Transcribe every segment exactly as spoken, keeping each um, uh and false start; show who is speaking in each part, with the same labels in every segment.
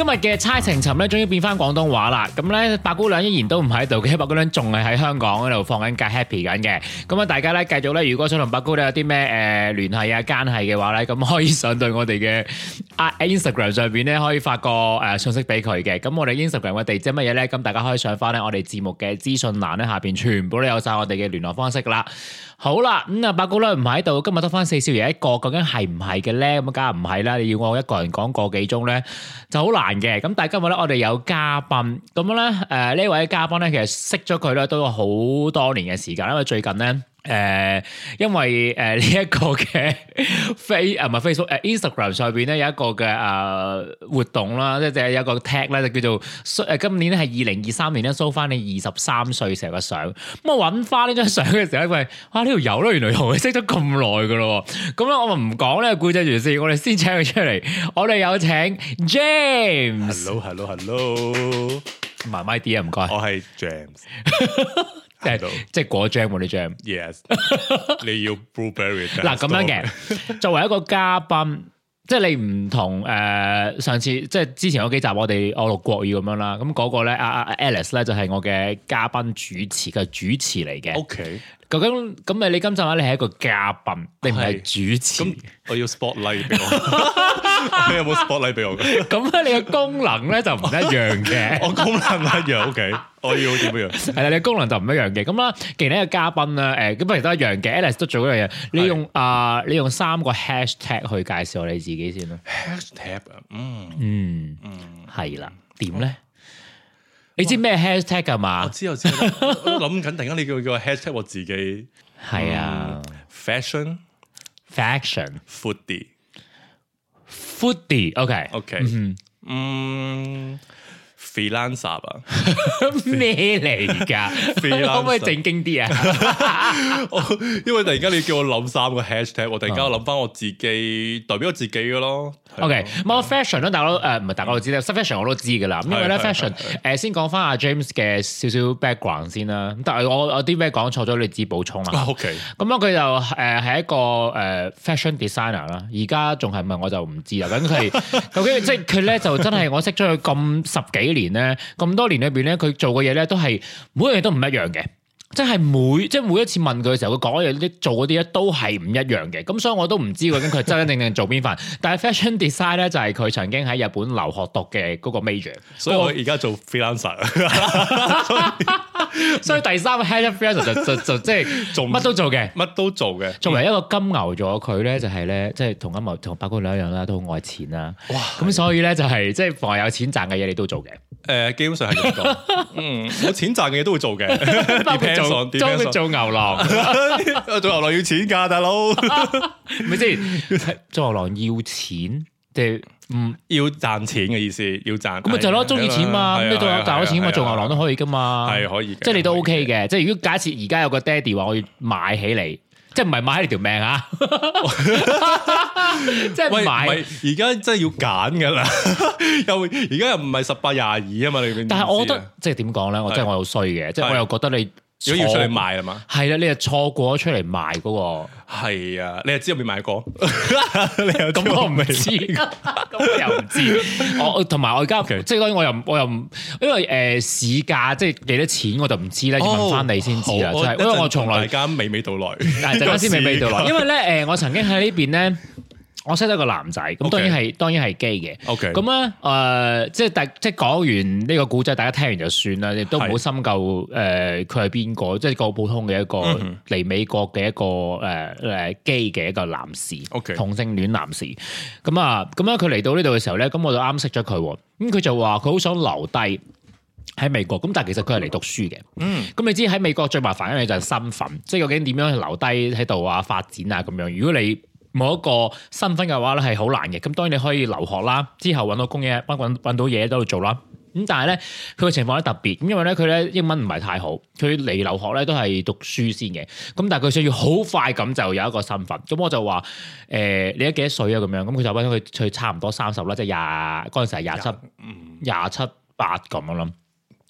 Speaker 1: 今日嘅猜情尋咧，終於變翻廣東話啦。咁咧，白姑娘依然都唔喺度嘅，白姑娘仲係喺香港嗰度放緊假 happy 緊嘅。咁啊，大家咧繼續咧，如果想同白姑娘有啲咩誒聯繫啊、奸係嘅話咧，咁可以上到我哋嘅啊 Instagram 上邊咧，可以發個誒信息俾佢嘅。咁我哋 Instagram 嘅地址乜嘢咧？咁大家可以上翻咧我哋節目嘅資訊欄咧，下邊全部都有晒我哋嘅聯絡方式噶啦。好啦，咁啊，白姑娘唔喺度，今日得翻四少爺一個，究竟係唔係嘅咧？咁梗係唔係啦！你要我一個人講個幾鐘咧，就好難嘅。咁但係今日咧，我哋有嘉賓，咁樣咧，誒呢位嘉賓咧，其實識咗佢咧都有好多年嘅時間，因為最近咧。誒、呃，因為誒呢一個嘅 face 啊唔係 Facebook 誒、呃、Instagram 上邊咧有一個嘅誒、呃、活動啦，即係有一個 tag 咧就叫做誒今年咧係二零二三年咧 show 翻你二十三歲成個相，咁我揾翻呢張相嘅時候咧，喂，哇呢條友咧原來同佢識咗咁耐噶咯，咁咧我咪唔講呢個故仔住先，我哋先請佢出嚟，我哋有請 James。
Speaker 2: Hello hello hello，
Speaker 1: 慢慢啲啊，唔該。
Speaker 2: 我係 James。
Speaker 1: 即係即係果 jam 嗰啲 jam，yes，
Speaker 2: 你要 blueberry
Speaker 1: 嗱咁樣嘅，作為一個嘉賓，即係你唔同誒、呃、上次即係之前嗰幾集我哋我錄國語咁樣啦，咁、那、嗰個咧阿阿 Alice 咧就係我嘅嘉賓主持嘅主持嚟嘅。
Speaker 2: OK，
Speaker 1: 究竟咁誒？你今集話你係一個嘉賓，你唔係主持？
Speaker 2: 咁我要 spotlight 俾我，你有冇 spotlight 俾我？
Speaker 1: 咁咧，你嘅功能咧就唔一樣嘅。
Speaker 2: 我功能一樣 OK。我要點樣？
Speaker 1: 係啦，你功能就唔一樣嘅。咁啦，既然呢個嘉賓啦，誒，咁不如都一樣嘅。Alice 都做一樣嘢，你用啊、呃，你用三個 hashtag 去介紹你自己先啦。
Speaker 2: hashtag 啊，嗯
Speaker 1: 嗯
Speaker 2: 嗯，
Speaker 1: 係啦，點咧？你知咩 hashtag 㗎嘛？
Speaker 2: 我知我知，我都諗緊，突然間你叫叫 hashtag 我自己。
Speaker 1: 係啊、嗯、
Speaker 2: ，fashion
Speaker 1: fashion
Speaker 2: foodie
Speaker 1: foodie，OK
Speaker 2: OK，嗯。嗯freelancer 啊，
Speaker 1: 咩嚟㗎？可唔可以正經啲啊？
Speaker 2: 因為突然間你叫我諗三個 hashtag， 我突然間諗翻我自己代表我自己嘅咯。
Speaker 1: OK，咁 fashion 咧，大家都誒唔係大家都知咧，fashion 我都知㗎啦。因為咧 fashion 誒先講翻阿 James 嘅少少 background 先啦。但係我有啲咩講錯咗，你自己補充啦。
Speaker 2: OK，咁
Speaker 1: 樣佢就誒係一個誒 fashion designer 啦。而家仲係咪我就唔知啦。咁佢究竟即係佢咧就真係我識咗佢咁十幾年。咧咁多年裏邊咧，佢做嘅嘢咧都係每樣嘢都唔一樣嘅，即係每即係每一次問佢嘅時候，佢講嘅嘢啲做嗰啲咧都係唔一樣嘅。咁所以我都唔知究竟佢真真正正做邊份。但係 fashion design 咧就係佢曾經喺日本留學讀嘅嗰個 major，
Speaker 2: 所以我而家做 freelancer。
Speaker 1: 所以第三個 head freelancer 就就就即係做乜都做嘅，
Speaker 2: 乜都做嘅。
Speaker 1: 作為一個金牛座，佢咧就係咧，即係同金牛同白姑娘一樣啦，都好愛錢啦。哇！咁所以咧就係即係凡係有錢賺嘅嘢，你都做嘅。
Speaker 2: 誒，基本上係咁講。嗯，有錢賺嘅嘢都會做嘅。
Speaker 1: 做做做牛郎，
Speaker 2: 做牛郎要錢㗎，大佬。
Speaker 1: 咪先，做牛郎要錢，即係唔
Speaker 2: 要賺錢嘅意思，要賺。咁
Speaker 1: 咪就係咯，中意錢嘛，咁你都有賺到錢嘛，做牛郎都可以㗎嘛。
Speaker 2: 係可以，
Speaker 1: 即係你都 OK 嘅。即係如果假設而家有個爹哋話我要買起你。即係唔係買你條命啊！即係買，
Speaker 2: 而家真係要揀噶啦，又而家又唔係十八廿二啊嘛，你
Speaker 1: 但係我覺得即係點講咧？我真係我又衰嘅，即係我又覺得你
Speaker 2: 如果要出嚟賣啊嘛，
Speaker 1: 係啦，你又錯過咗出嚟賣嗰個，
Speaker 2: 係啊，你又知有未買過？
Speaker 1: 你又咁我唔知，咁我又唔知。我同埋我而家即係當然我又我又唔，因為誒市價即係幾多錢我就唔知咧，要問翻你先知啦。即係因為我從來
Speaker 2: 大家娓娓道來，
Speaker 1: 陣間先娓娓道來。因為咧誒，我曾經喺呢邊咧。我識得個男仔，咁當然係 Okay. 當然係 gay 嘅。
Speaker 2: OK，
Speaker 1: 咁咧誒，即係大即係講完呢個故仔，大家聽完就算啦，亦都唔好深究誒佢係邊個，即係個普通嘅一個嚟、mm hmm. 美國嘅一個誒誒 gay 嘅一個男士，OK，同性戀男士。咁啊，咁樣佢嚟到呢度嘅時候咧，咁我就啱識咗佢，咁佢就話佢好想留低喺美國，咁但係其實佢係嚟讀書嘅。嗯，咁你知喺美國最麻煩一樣嘢就係身份，即係究竟點樣去留低喺度啊發展啊咁樣。如果你冇一個身份嘅話咧，係好難嘅。咁當然你可以留學啦，之後揾到工嘢，揾揾到嘢喺度做啦。咁但係咧，佢嘅情況咧特別，因為咧佢咧英文唔係太好，佢嚟留學咧都係讀書先嘅。咁但係佢需要好快咁就有一個身份。咁我就話誒、呃，你而家幾多歲啊？咁樣咁佢就揾佢佢差唔多三十啦，即係廿嗰陣時係廿七廿七八咁樣啦。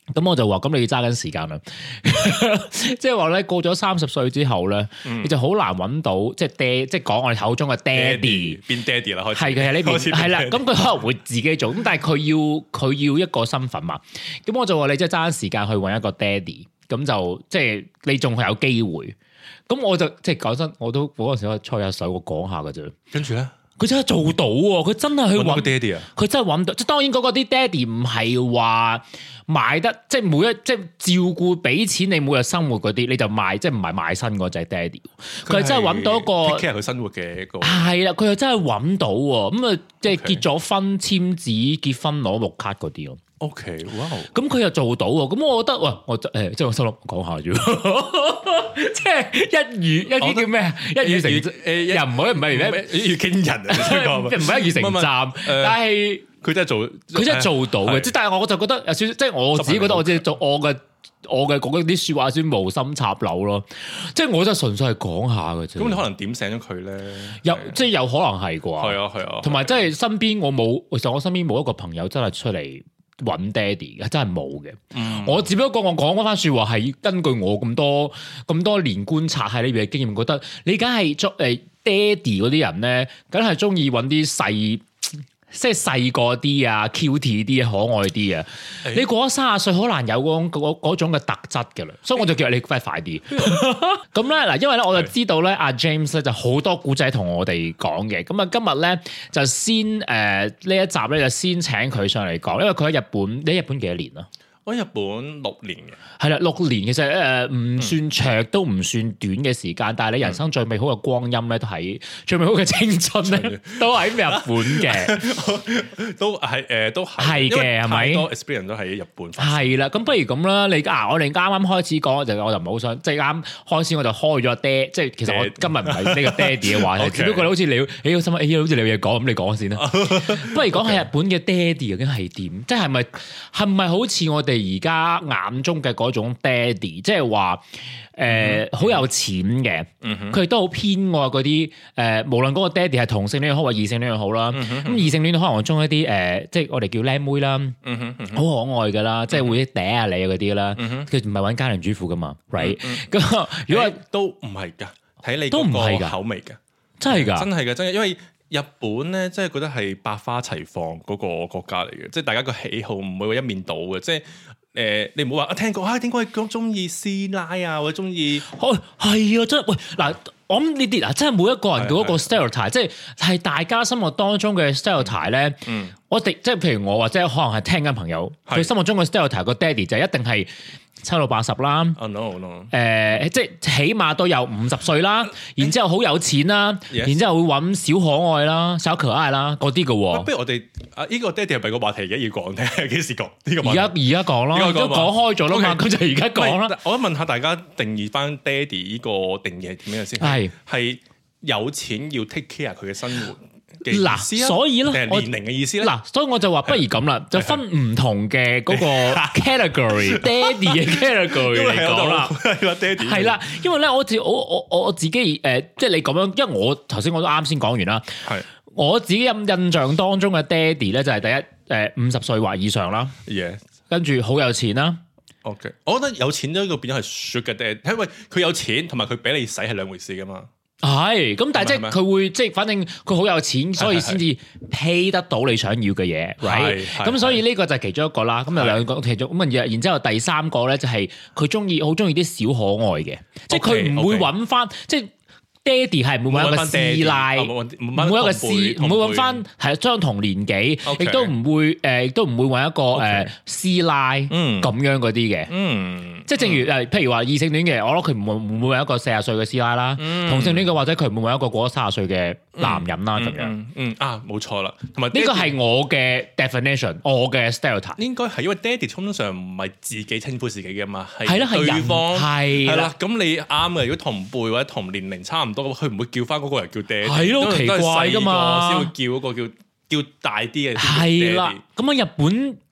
Speaker 1: 咁我就話：咁你要揸緊時間啦，即係話咧過咗三十歲之後咧，嗯、你就好難揾到即係爹，即係講我哋口中嘅爹哋
Speaker 2: 變爹哋啦，開始
Speaker 1: 係嘅喺呢邊係啦。咁佢可能會自己做，咁但係佢要佢要一個身份嘛。咁我就話你即係揸緊時間去揾一個爹哋，咁就即係你仲係有機會。咁我就即係講真，我都嗰陣時我吹下水，我講下㗎啫。
Speaker 2: 跟住咧。
Speaker 1: 佢真係做到喎！佢真係去揾
Speaker 2: 爹哋啊！
Speaker 1: 佢真係揾到，即係當然嗰個啲爹哋唔係話買得，即係每一即係照顧俾錢你每日生活嗰啲，你就賣，即係唔係賣身嗰隻爹哋。佢係真係揾到一個
Speaker 2: take care 佢生活嘅一個。
Speaker 1: 係啦，佢又真係揾到喎！咁啊，即係結咗婚簽紙、結婚攞綠卡嗰啲咯。
Speaker 2: O K，哇！
Speaker 1: 咁佢又做到喎，咁我覺得喂，我誒、欸、即係我心諗講下啫，即係一語一啲叫咩啊？一語成誒又唔可以唔係咩？
Speaker 2: 要驚人啊！
Speaker 1: 唔係一語成站，但係
Speaker 2: 佢真係做，
Speaker 1: 佢真係做到嘅。即係但係我就覺得有少少，即係我自己覺得我自己做我嘅我嘅講啲説話先無心插柳咯。即係我真係純粹係講下嘅啫。
Speaker 2: 咁你可能點醒咗佢咧？
Speaker 1: 有即係有可能係啩？
Speaker 2: 係啊係啊。同
Speaker 1: 埋即係身邊我冇，其實我身邊冇一個朋友真係出嚟揾爹哋嘅，真係冇嘅。嗯、我只不過我講嗰番説話係根據我咁多咁多年觀察喺呢邊嘅經驗，覺得你梗係作誒爹哋嗰啲人咧，梗係中意揾啲細。即係細個啲啊 ，cute 啲啊，可愛啲啊！欸、你過咗三十歲，好難有嗰嗰嗰種嘅特質嘅啦，所以我就叫你快快啲。咁咧嗱，因為咧我就知道咧，阿 James 咧就好多古仔同我哋講嘅。咁啊，今日咧就先誒呢、呃、一集咧就先請佢上嚟講，因為佢喺日本，你喺日本幾多年啊？
Speaker 2: 我喺日本六年嘅，
Speaker 1: 係啦，六年其實誒唔算長，嗯、都唔算短嘅時間，但係你人生最美好嘅光陰咧，都喺最美好嘅青春咧，都喺日本嘅，
Speaker 2: 都係誒，都
Speaker 1: 係嘅，係咪？
Speaker 2: 多 experience 都喺日本。
Speaker 1: 係啦，咁不如咁啦，你啊，我哋啱啱開始講就我就唔係好想，即係啱開始我就開咗爹，即係其實我今日唔係呢個爹哋嘅話題， Okay. 只不過好似你，你好心諗，誒好似你有嘢講，咁你講先啦。不如講下日本嘅爹哋究竟係點？即係咪係咪好似我哋而家眼中嘅嗰種爹哋，即係話誒好有錢嘅，佢亦都好偏愛嗰啲誒，無論嗰個爹哋係同性戀又好或異性戀又好啦。咁、嗯、異性戀可能中一啲誒、呃，即係我哋叫靚妹啦，好、嗯、可愛噶啦，嗯、即係會嗲下你嗰啲啦。佢唔係揾家庭主婦噶嘛 ，right？咁、嗯、如果
Speaker 2: 都唔係噶，睇你
Speaker 1: 都唔係
Speaker 2: 個口味噶，
Speaker 1: 真係噶，
Speaker 2: 真係噶，真係，因為日本咧，真係覺得係百花齊放嗰個國家嚟嘅，即係大家個喜好唔會話一面倒嘅，即係。誒、呃，你唔好話啊！聽過啊，點解佢中意師奶啊，或者中意？哦，
Speaker 1: 係啊，真係喂嗱，我諗呢啲啊，真係每一個人嘅嗰個 stereotype，即係係大家心目當中嘅 stereotype 咧。嗯，我哋即係譬如我或者可能係聽緊朋友，佢是心目中嘅 stereotype 個爹哋就一定係七到八十啦。
Speaker 2: 哦 no no，誒、
Speaker 1: 呃，即係起碼都有五十歲啦，然之後好有錢啦，Yes. 然之後會揾小可愛啦、小可愛啦嗰啲嘅喎。
Speaker 2: 不如我哋啊，呢個爹哋係咪個話題而家要講咧？幾時講？呢個
Speaker 1: 而家而家講咯，都講開咗啦嘛，咁 Okay. 就而家講啦。
Speaker 2: 我想問下大家定義翻爹哋呢個定義係點樣先？係係是有錢要 take care 佢嘅生活。嗱，所以咧， 年齡嘅意思咧，
Speaker 1: 嗱，所以我就話不如咁啦，就分唔同嘅嗰個 category，爹哋嘅 category 嚟講啦，
Speaker 2: 爹哋
Speaker 1: 係啦，因為咧，我自我我我自己誒，即係你咁樣，因為我頭先我都啱先講完啦，係我自己印印象當中嘅爹哋咧，就係第一誒五十歲或以上啦，
Speaker 2: 嘢，
Speaker 1: 跟住好有錢啦。
Speaker 2: OK，我覺得有錢呢個變咗係 sugar daddy，因為佢有錢同埋佢俾你使係兩回事噶嘛。
Speaker 1: 係，咁但係即係佢會即係，反正佢好有錢，所以先至 pay 得到你想要嘅嘢，right？咁所以呢個就係其中一個啦。咁有兩個其中咁啊，然之後第三個咧就係佢中意好中意啲小可愛嘅，即係佢唔會揾翻即係。爹哋係唔會揾一個師奶，唔會一個師，唔會揾翻係相同年紀，亦都唔會誒，亦都唔會揾一個誒師奶咁樣嗰啲嘅。嗯，即係正如誒，譬如話異性戀嘅，我諗佢唔會唔會揾一個四十歲嘅師奶啦。同性戀嘅或者佢唔會揾一個過咗三十歲嘅男人啦咁樣。嗯啊，冇錯啦。同埋呢個係我嘅 definition，我嘅 stereotype。應該係因為爹哋通常唔係自己稱呼自己嘅嘛，係對方係啦。咁你啱嘅，如果同輩或者同年齡差唔多，佢唔會叫翻嗰個人叫爹，係咯，奇怪噶嘛，先會叫嗰個叫叫大啲嘅。係啦，咁啊，日本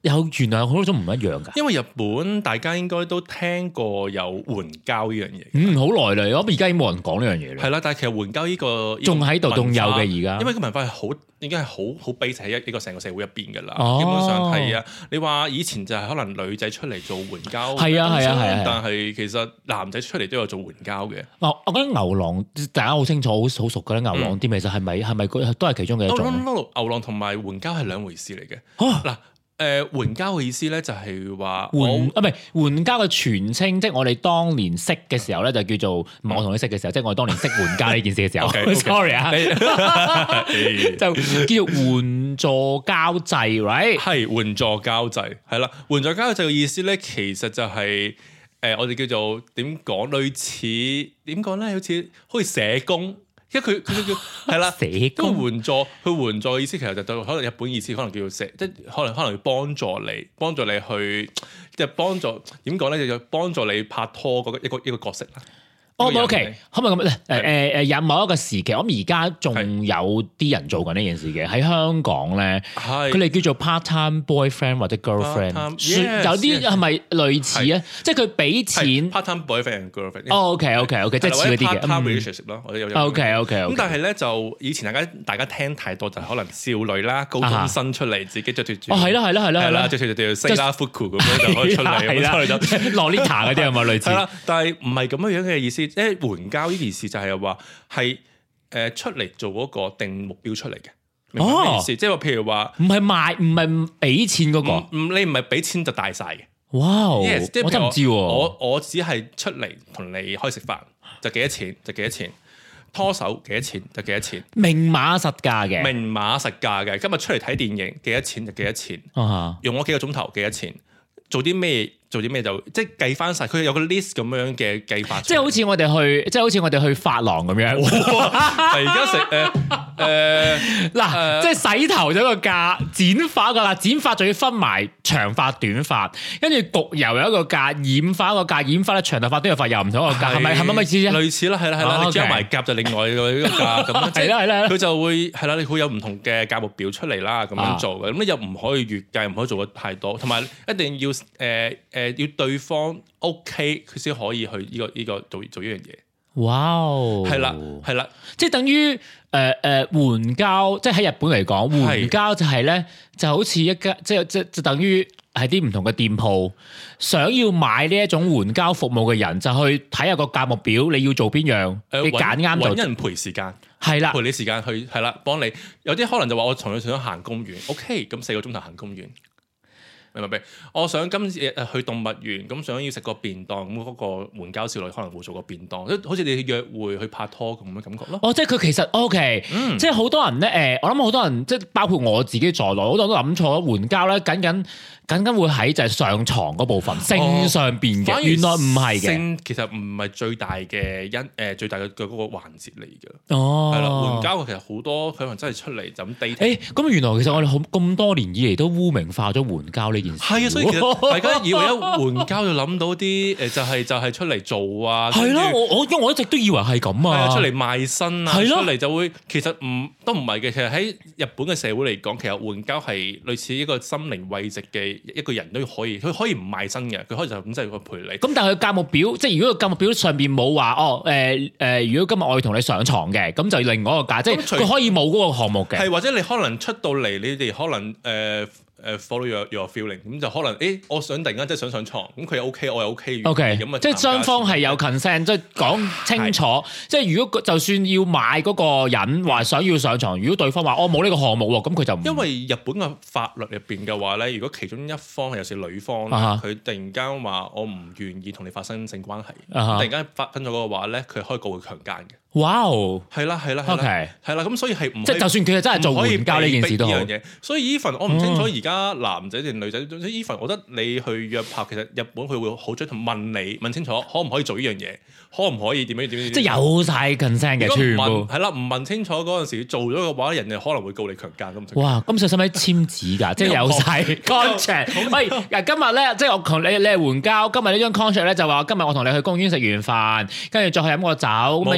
Speaker 1: 有原來有好多種唔一樣㗎。
Speaker 2: 因為日本大家應該都聽過有援交呢樣嘢。
Speaker 1: 嗯，好耐啦，我而家已經冇人講呢樣嘢啦。
Speaker 2: 係啦，但係其實援交呢個
Speaker 1: 仲喺度，仲有嘅而家。
Speaker 2: 因為個文化係好已經係好好 base 喺一呢個成個社會入邊㗎啦。
Speaker 1: 哦、
Speaker 2: 基本上係啊，你話以前就係可能女仔出嚟做援交，
Speaker 1: 係啊係啊係啊，
Speaker 2: 但係其實男仔出嚟都有做援交嘅。
Speaker 1: 哦，我覺得牛郎大家好清楚，好好熟㗎啦。牛郎店其實係咪係咪都係其中嘅一種？
Speaker 2: 牛郎同埋援交係兩回事嚟嘅。嗱、啊。誒、呃、援交嘅意思咧，就係話
Speaker 1: 援啊，唔係援交嘅全稱，即係我哋當年識嘅時候咧，就叫做唔係我同你識嘅時候，即係我哋當年識援交呢件事嘅時候。 okay, okay. Sorry 啊，就叫做援助交際 ，right？
Speaker 2: 係援助交際，係啦。援助交際嘅意思咧，其實就係、是、誒、呃、我哋叫做點講，類似點講咧，好似好似社工。因為佢佢叫係啦，社工援助，佢援助嘅意思其實就對可能日本意思可能叫做社，即係可能可能要幫助你，幫助你去即係幫助點講咧，就幫助你拍拖嗰一個一個角色啦。
Speaker 1: 哦 ，OK，可唔可以咁咧？誒誒誒，有某一個時期，我諗而家仲有啲人做緊呢件事嘅喺香港咧，佢哋叫做 part-time boyfriend 或者 girlfriend， 有啲係咪類似啊？即係佢俾錢
Speaker 2: part-time boyfriend and girlfriend。
Speaker 1: 哦，OK OK OK，即係似嗰啲嘅
Speaker 2: part-time relationship 咯。我有
Speaker 1: OK OK OK。
Speaker 2: 咁但係咧就以前大家大家聽太多就係可能少女啦，高中生出嚟自己着住住，
Speaker 1: 哦係啦係啦係啦係啦，
Speaker 2: 着住條西拉 fuku 咁樣就可以出嚟，咁出嚟就
Speaker 1: Lolita 嗰啲係咪類似？
Speaker 2: 係啦，但係唔係咁樣樣嘅意思。即係援交呢件事就係話係誒出嚟做嗰個定目標出嚟嘅，明白咩意思？即係話譬如話唔
Speaker 1: 係賣唔係俾錢嗰個，
Speaker 2: 唔你唔係俾錢就大晒嘅。
Speaker 1: 哇！
Speaker 2: yes,
Speaker 1: 我真唔知喎。
Speaker 2: 我我只係出嚟同你開食飯，就幾多錢就幾多錢，拖手幾多錢就幾多錢，
Speaker 1: 明碼實價嘅，
Speaker 2: 明碼實價嘅。今日出嚟睇電影幾多錢就幾多錢，
Speaker 1: 啊、
Speaker 2: 用我幾個鐘頭幾多錢，做啲咩？做啲咩就即係計翻晒，佢有個 list 咁樣嘅計法。即係
Speaker 1: 好似我哋去，即係好似我哋去髮廊咁樣。
Speaker 2: 而家食誒誒
Speaker 1: 嗱，即係洗頭咗個價，剪髮個價，剪髮仲要分埋長髮短髮，跟住焗油有一個價，染髮一個價，染髮咧長頭髮短頭髮又唔同一個價，係咪係咪咪意思啊？
Speaker 2: 類似啦，係啦係啦，你加埋夾就另外一個價咁。係啦係啦，佢就會係啦，你會有唔同嘅價目表出嚟啦，咁樣做嘅。咁你又唔可以越計，唔可以做得太多，同埋一定要誒誒。誒要對方 OK，佢先可以去呢、呢個呢、呢個做做呢樣嘢。
Speaker 1: 哇！
Speaker 2: 係啦係啦，
Speaker 1: 即係等於誒誒援交，即係喺日本嚟講，援交就係咧就好似一間即係即即等於係啲唔同嘅店鋪，想要買呢一種援交服務嘅人，就去睇下個價目表，你要做邊樣，呃、你揀啱就揾
Speaker 2: 人陪時間，
Speaker 1: 係啦，
Speaker 2: 陪你時間去係啦，幫你。有啲可能就話我從來想行公園 ，OK，咁四個鐘頭行公園。明唔明？我想今次誒去動物園，咁想要食個便當，咁嗰個援交少女可能會做個便當，即好似你去約會去拍拖咁嘅感覺咯。
Speaker 1: 哦，即係佢其實 OK，、嗯、即係好多人咧誒，我諗好多人即係包括我自己在內，好多人都諗錯援交咧，僅僅僅僅會喺就係上床嗰部分，性上邊嘅，原來唔係嘅。
Speaker 2: 性其實唔係最大嘅因誒，最大嘅嘅嗰個環節嚟嘅。
Speaker 1: 哦，
Speaker 2: 係啦，援交其實好多佢可能真係出嚟就咁 dating。
Speaker 1: 誒，咁原來其實我哋好咁多年以嚟都污名化咗援交呢件事。
Speaker 2: 係啊，所以其實大家以為一援交就諗到啲誒，就係就係出嚟做啊。
Speaker 1: 係咯，我我因為我一直都以為係咁啊，
Speaker 2: 出嚟賣身啊，出嚟就會其實唔都唔係嘅。其實喺日本嘅社會嚟講，其實援交係類似一個心靈慰藉嘅一個人都可以，佢可以唔賣身嘅，佢可以就咁即係去陪你。咁
Speaker 1: 但係佢價目表，即係如果個價目表上邊冇話哦誒誒、呃呃，如果今日我要同你上床嘅，咁就另外一個價，即係佢可以冇嗰個項目嘅。係或者你可能出到嚟，你哋可能誒。呃誒 follow your your feeling，咁就可能誒，我想突然間即係想上床，咁佢又 OK，我又 OK，OK，咁啊，即係雙方係有 consent，即係講清楚。即係如果就算要買嗰個人話想要上床，如果對方話我冇呢個項目喎，咁佢就唔因為日本嘅法律入邊嘅話咧，如果其中一方係有時女方，佢、uh huh. 突然間話我唔願意同你發生性關係，uh huh. 突然間發生咗嗰個話咧，佢可以告佢強姦嘅。哇！係啦係啦係啦，係啦，咁所以係唔即係就算佢真係做援交呢件事都好。所以 even 我唔清楚而家男仔定女仔，even 我覺得你去約炮，其實日本佢會好追同問你問清楚，可唔可以做呢樣嘢，可唔可以點樣點樣？即係有晒 consent 嘅全部。係啦，唔問清楚嗰陣時做咗嘅話，人哋可能會告你強姦咁。哇！咁使唔使簽紙㗎？即係有晒 contract。喂，嗱今日咧，即係我同你你係援交，今日呢張 contract 咧就話今日我同你去公園食完飯，跟住再去飲個酒，咁啊夜晚。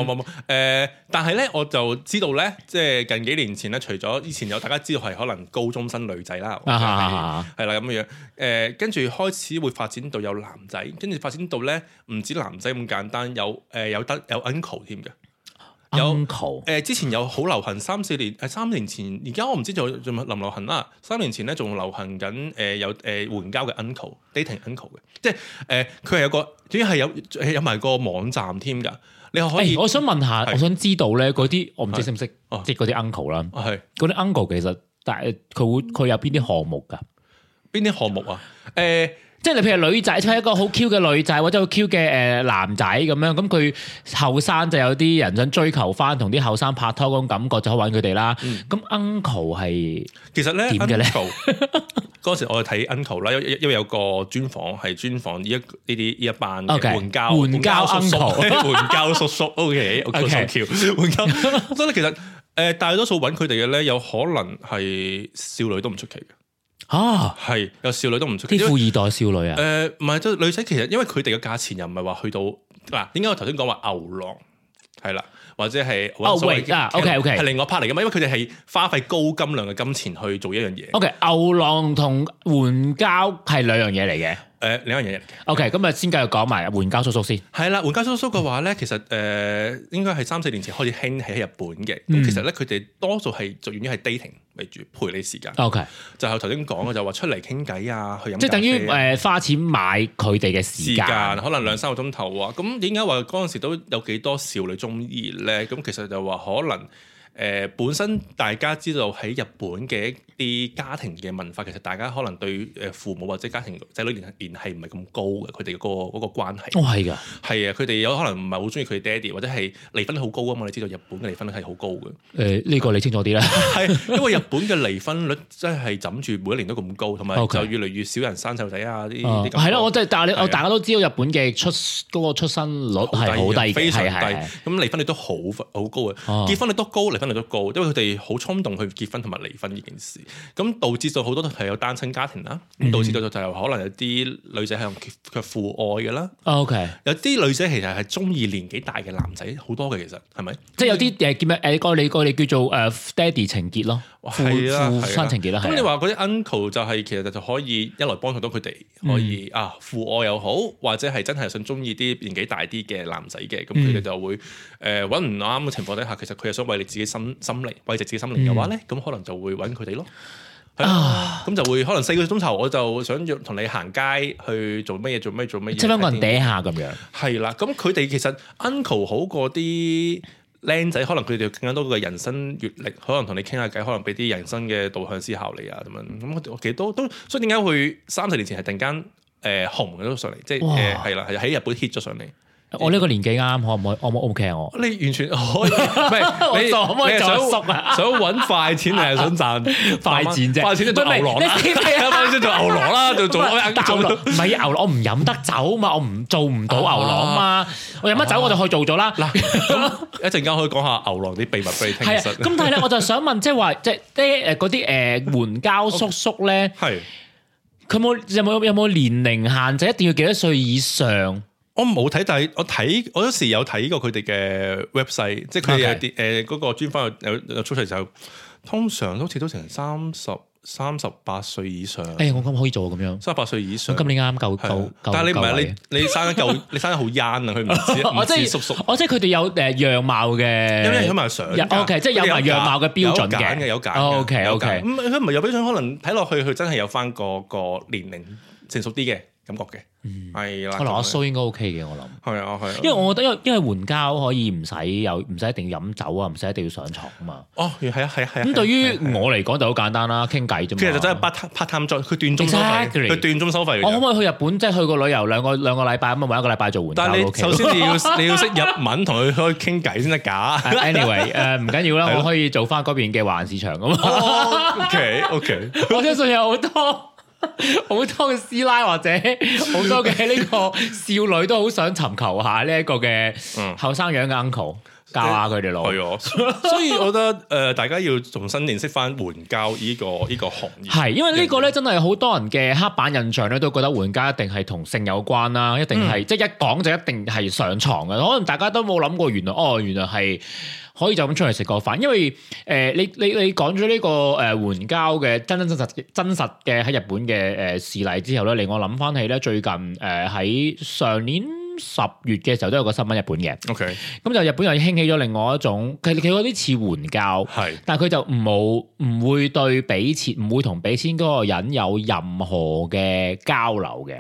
Speaker 2: 冇冇冇誒，但係咧我就知道咧，即係近幾年前咧，除咗以前有大家知道係可能高中生女仔啦，係啦咁樣誒，跟住開始會發展到有男仔，跟住發展到咧唔止男仔咁簡單，有誒有得有 uncle 添嘅。有誒
Speaker 1: Uncle、
Speaker 2: 呃，之前有好流行三四年，誒三年前，而家我唔知仲仲流唔流行啦。三年前咧仲流行緊誒、呃、有誒、呃、援交嘅 uncle dating uncle 嘅，即係誒佢係有個，主要係有有埋個網站添㗎。你可以，
Speaker 1: 欸、我想問下，
Speaker 2: 是
Speaker 1: 我想知道咧嗰啲，我唔知識唔識，即係嗰啲 uncle 啦，
Speaker 2: 係
Speaker 1: 嗰啲 uncle 其實，但係佢會佢有邊啲項目㗎？
Speaker 2: 邊啲項目啊？誒、呃。
Speaker 1: 即係你譬如女仔，即係一個好 Q 嘅女仔，或者好 Q 嘅誒男仔咁樣，咁佢後生就有啲人想追求翻，同啲後生拍拖嗰種感覺，就可以揾佢哋啦。咁、嗯、uncle 係
Speaker 2: 其實咧
Speaker 1: 點嘅咧？
Speaker 2: 嗰時我睇 uncle 啦，因因為有個專訪係專訪呢一呢啲呢一班
Speaker 1: 嘅
Speaker 2: 援交
Speaker 1: 援交 uncle
Speaker 2: 援交叔叔 OK OK 橋援交，所以其實誒大多數揾佢哋嘅咧，有可能係少女都唔出奇嘅。
Speaker 1: 啊，
Speaker 2: 係有少女都唔出奇，
Speaker 1: 啲富二代少女啊？
Speaker 2: 誒唔係，即係女仔其實因為佢哋嘅價錢又唔係話去到嗱，點解我頭先講話牛郎係啦，或者係
Speaker 1: 哦喂啊 OK OK
Speaker 2: 係另外 part 嚟㗎嘛，因為佢哋係花費高金量嘅金錢去做一樣嘢。
Speaker 1: OK， 牛郎同援交係兩樣嘢嚟嘅。
Speaker 2: 誒兩樣嘢嚟嘅。
Speaker 1: OK，咁啊先繼續講埋援交叔叔先。
Speaker 2: 係啦，援交叔叔嘅話咧，其實誒、呃、應該係三四年前開始興起喺日本嘅。咁、嗯、其實咧，佢哋多數係做源於係 dating 為主，陪你時間。OK， 就係頭先講嘅就話出嚟傾偈啊，去飲咖啡啊，
Speaker 1: 即係等於誒、呃、花錢買佢哋嘅時間，
Speaker 2: 時間可能兩三個鐘頭啊。咁點解話嗰陣時都有幾多少女中意咧？咁其實就話可能。誒、呃、本身大家知道喺日本嘅一啲家庭嘅文化，其實大家可能對誒父母或者家庭仔女聯聯繫唔係咁高嘅，佢哋嗰個嗰個關係。哦，係㗎，係啊，佢哋有可能唔係好中意佢爹哋，或者係離婚率好高啊嘛！你知道日本嘅離婚率係好高嘅。誒、呃，呢、呢個你清楚啲啦。係因為日本嘅離婚率真係枕住每一年都咁高，同埋就越嚟越少人生細路仔啊！啲啲咁。係咯，我即係但係你我大家都知道日本嘅出嗰、嗰個出生率係好低，非常低。咁離婚率都好好高嘅，哦、結婚率都高，離婚率都高，因為佢哋好衝動去結婚同埋離婚呢件事，咁導致到好多都係有單親家庭啦，咁、嗯、導致到就係可能有啲女仔係用佢父愛嘅啦。OK， 有啲女仔其實係中意年紀大嘅男仔，好多嘅其實係咪？即係有啲誒叫咩誒個你個你叫做誒爹哋情結咯，係啦，父親情結啦。咁你話嗰啲 uncle 就係、是、其實就可以一來幫助到佢哋，可以、嗯、啊父愛又好，或者係真係想中意啲年紀大啲嘅男仔嘅，咁佢哋就會誒揾唔啱嘅情況底下，其實佢係想為你自己心心靈慰藉自己心靈嘅話咧，咁、嗯、可能就會揾佢哋咯。啊，咁就會可能四個鐘頭，我就想要同你行街去做乜嘢做乜嘢做乜嘢，即係香港人嗲下咁樣。係啦，咁佢哋其實 uncle 好過啲僆仔，可能佢哋更加多嘅人生閲歷，可能同你傾下偈，可能俾啲人生嘅導向思考你啊咁樣。咁我其實都都，所以點解會三十年前係突然間誒、呃、紅咗上嚟，即係誒係啦，係喺日本 hit 咗上嚟。我呢個年紀啱，可唔可以？可唔可以 OK 啊？我你完全可以，唔係你可唔可以想想揾快錢定係想賺快錢啫？快錢就做牛郎啦，快錢做牛郎啦，就做牛郎。唔係牛郎，我唔飲得酒嘛，我唔做唔到牛郎嘛。我飲得酒我就去做咗啦。嗱，一陣間可以講下牛郎啲秘密俾你聽。係啊，咁但係咧，我就想問，即係話，即係啲誒嗰啲誒援交叔叔咧，係佢冇有冇有冇年齡限制？一定要幾多歲以上？我冇睇，但係我睇，我有時有睇過佢哋嘅 website， 即係佢哋有啲誒嗰個專訪有有出嚟就，通常好似都成三十三十八歲以上。誒、欸，我咁可以做咁樣，三十八歲以上。今年啱夠夠，但係你唔係你你生得夠，你生得好 young 啊！佢唔知我即係叔叔，我即係佢哋有誒樣貌嘅，因為有埋相。O K， 即係有埋樣貌嘅標準嘅，有揀嘅，有揀。O K O K，咁佢唔係有標準，可能睇落去佢真係有翻個個年齡成熟啲嘅感覺嘅。係啦，可能阿蘇應該 OK 嘅，我諗係啊，係啊，因為我覺得因為因為援交可以唔使有唔使一定飲酒啊，唔使一定要上床啊嘛。哦，係啊，係啊，係啊。咁對於我嚟講就好簡單啦，傾偈啫嘛。其實就真係 part part time job，佢斷鐘收費，佢斷鐘收費。我可唔可以去日本即係去個旅遊兩個兩個禮拜咁啊？揾一個禮拜做援交。但係你首先你要你要識日文同佢可以傾偈先得㗎。Anyway， 誒唔緊要啦，我可以做翻嗰邊嘅華人市場咁啊。OK OK，我相信有好多。好多嘅師奶或者好多嘅呢個少女都好想尋求下呢一個嘅後生樣嘅 uncle，
Speaker 1: 教下佢哋咯。
Speaker 2: 係啊，所以我覺得誒、呃，大家要重新認識翻援交呢個呢、呢個行業。
Speaker 1: 係，因為呢個咧真係好多人嘅刻板印象咧，都覺得援交一定係同性有關啦，一定係、嗯、即係一講就一定係上床嘅。可能大家都冇諗過，原來哦，原來係可以就咁出嚟食個飯。因為誒、呃，你你你講咗呢個誒援交嘅真真真實真實嘅喺日本嘅誒事例之後咧，令我諗翻起咧最近誒喺、呃、上年十月嘅時候都有個新聞日本嘅。
Speaker 2: OK，
Speaker 1: 咁就日本又興起咗另外一種，佢佢嗰啲似援交，係是，但係佢就唔冇唔會對俾錢，唔會同俾錢嗰個人有任何嘅交流嘅。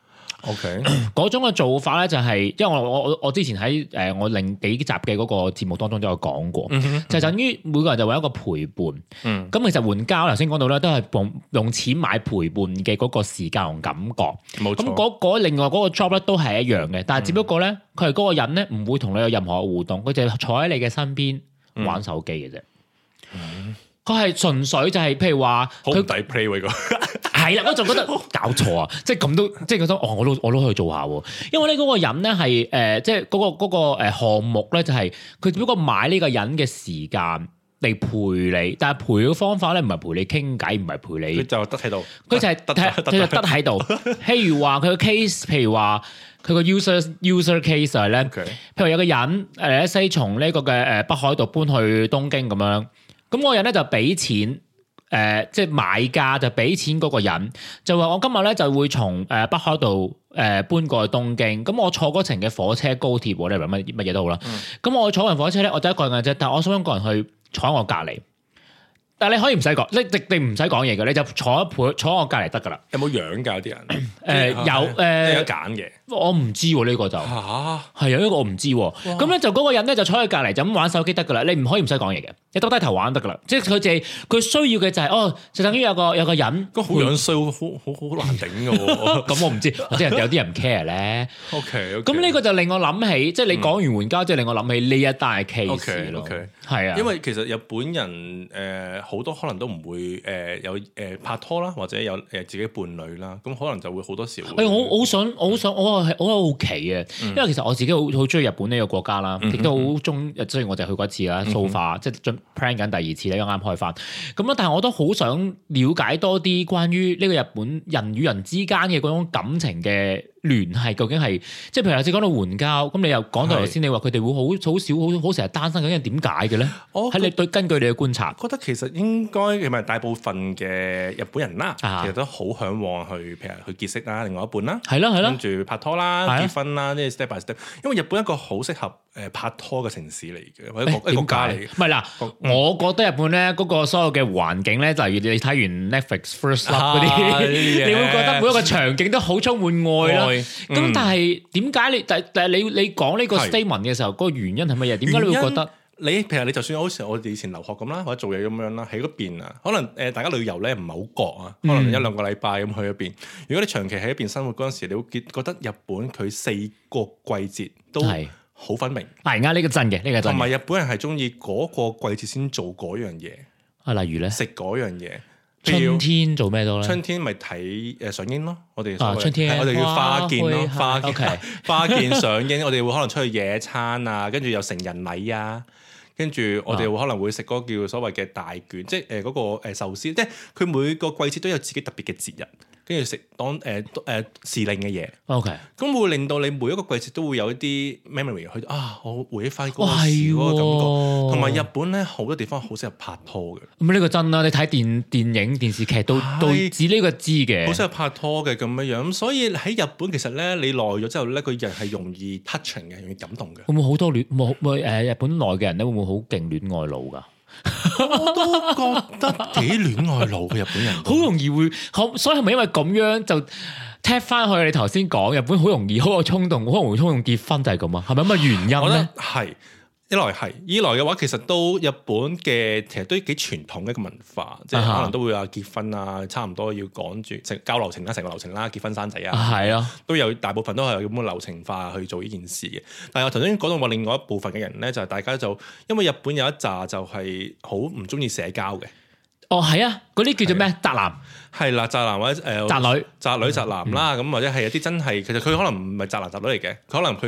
Speaker 2: OK，
Speaker 1: 嗰種嘅做法咧就係、是，因為我我我我之前喺誒我另幾集嘅嗰個節目當中都有講過，嗯、哼就等於每個人就為一個陪伴。嗯，咁其實援交頭先講到咧，都係用用錢買陪伴嘅嗰個時間同感覺。冇錯。咁嗰嗰另外嗰個 job 咧都係一樣嘅，但係只不過咧，佢係嗰個人咧唔會同你有任何互動，佢就坐喺你嘅身邊玩手機嘅啫。嗯。佢係純粹就係、是，譬如話
Speaker 2: 好抵 play 喎，個
Speaker 1: 係啦，我就覺得搞錯啊！即係咁都，即係覺得哦，我都我都可以做下喎。因為咧嗰個人咧係誒，即係嗰個嗰個誒項目咧，就係佢只不過買呢個人嘅時間嚟陪你，但係陪嘅方法咧唔係陪你傾偈，唔係陪你，
Speaker 2: 佢就得喺度，
Speaker 1: 佢就係得佢就得喺度。譬如話佢個 case，譬如話佢個 user user case 係咧，譬如有個人誒一西從呢個嘅誒北海道搬去東京咁樣。咁嗰個人咧就俾錢，誒、呃，即係買家就俾錢嗰個人，就話我今日咧就會從誒北海道誒搬過去東京，咁我坐嗰程嘅火車、高鐵，或者乜乜嘢都好啦。咁、嗯、我坐完火車咧，我就一個人嘅啫，但係我想一個人去坐喺我隔離。但係你可以唔使講，你直定唔使講嘢嘅，你就坐一陪坐喺我隔離得噶啦。
Speaker 2: 有冇樣㗎啲人？誒、
Speaker 1: 呃、有誒，呃、有
Speaker 2: 揀嘅。
Speaker 1: 我唔知喎、啊，呢、呢個就嚇係啊，呢、呢個我唔知喎、啊。咁咧哇就嗰個人咧就坐喺隔離就咁玩手機得噶啦，你唔可以唔使講嘢嘅，你耷低頭玩得噶啦。即係佢淨係佢需要嘅就係、是、哦，就等於有個有個人，
Speaker 2: 個好樣衰，好好好難頂嘅喎。
Speaker 1: 咁我唔知，或者人有啲人唔 care 咧。
Speaker 2: OK，
Speaker 1: 咁呢個就令我諗起，即係你講完援交，即係令我諗起呢一單 case 咯。
Speaker 2: OK，
Speaker 1: 係啊，
Speaker 2: 因為其實日本人誒好多可能都唔會誒有誒拍拖啦，或者有誒自己伴侶啦，咁可能就會好多時會。誒，
Speaker 1: 我好想，我好想，我係我好奇。因為其實我自己好好中意日本呢個國家啦，亦都好中，雖然我就去過一次啦，so far，即係進 plan 緊第二次咧，啱啱開翻。咁啊，但係我都好想了解多啲關於呢個日本人與人之間嘅嗰種感情嘅聯繫，究竟係即係譬如頭先講到援交，咁你又講到頭先，你話佢哋會好好少好好成日單身，究竟係點解嘅咧？喺你對根據你嘅觀察，
Speaker 2: 覺得其實應該係咪大部分嘅日本人啦，
Speaker 1: 啊、
Speaker 2: 其實都好嚮往去譬如去結識啦，另外一半啦，
Speaker 1: 係咯係咯，
Speaker 2: 跟住拍拖啦、結婚啦，呢啲 step by step。因為日本一個好適合誒拍拖嘅城市嚟嘅，或者國國家嚟嘅。唔係
Speaker 1: 嗱，我覺得日本咧嗰個所有嘅環境咧，就係你睇完 Netflix First Love 嗰啲，你會覺得每一個場景都好充滿愛啦。咁但係點解你但但係你你講呢個 statement 嘅時候，嗰個原因係乜嘢？點解你會覺得
Speaker 2: 你譬如你就算好似我哋以前留學咁啦，或者做嘢咁樣啦，喺嗰邊啊，可能誒大家旅遊咧唔係好覺啊，可能一兩個禮拜咁去一邊。如果你長期喺一邊生活嗰陣時，你會覺覺得日本佢四個季節都好分明。
Speaker 1: 係而家呢個真嘅，呢個真。
Speaker 2: 同埋日本人係中意嗰個季節先做嗰樣嘢。啊，
Speaker 1: 例如咧，
Speaker 2: 食嗰樣嘢。
Speaker 1: 春天做咩多咧？
Speaker 2: 春天咪睇誒上櫻咯，我哋
Speaker 1: 啊春天
Speaker 2: 我哋叫花見咯，花見
Speaker 1: okay.
Speaker 2: 花見上櫻，我哋會可能出去野餐啊，跟住有成人禮啊，跟住我哋會可能會食嗰個叫所謂嘅大卷，即係誒嗰個誒壽司，即係佢每個季節都有自己特別嘅節日。跟住食當誒誒時令嘅嘢，OK，咁會令到你每一個季節都會有一啲 memory 去啊，我回憶翻嗰個時嗰個感覺。同埋日本咧好多地方好適合拍拖嘅。咁呢個真啦，你睇電電影電視劇都都指呢個知嘅，好適合拍拖嘅咁樣樣。咁所以喺日本其實咧，你耐咗之後咧，個人係容易 touching 嘅，容易感動嘅。會唔會好多戀冇冇誒日本內嘅人咧？會唔會好勁戀愛腦㗎？我都覺得幾戀愛腦嘅日本人，好容易會，所以係咪因為咁樣就踢翻去你頭先講日本好容易好有衝動，好容易衝動結婚就係咁啊？係咪咁嘅原因咧？係。一來係，二來嘅話其實都日本嘅其實都幾傳統嘅一個文化，即係可能都會話結婚啊，差唔多要趕住成交流程啦，成個流程啦，結婚生仔啊，係啊，都有大部分都係咁嘅流程化去做呢件事嘅。但係我頭先講到話另外一部分嘅人咧，就係、是、大家就因為日本有一紮就係好唔中意社交嘅。哦，係啊，嗰啲叫做咩？宅男係啦，宅男或者誒宅女、宅女、宅男啦，咁、嗯、或者係有啲真係其實佢可能唔係宅男宅女嚟嘅，佢可能佢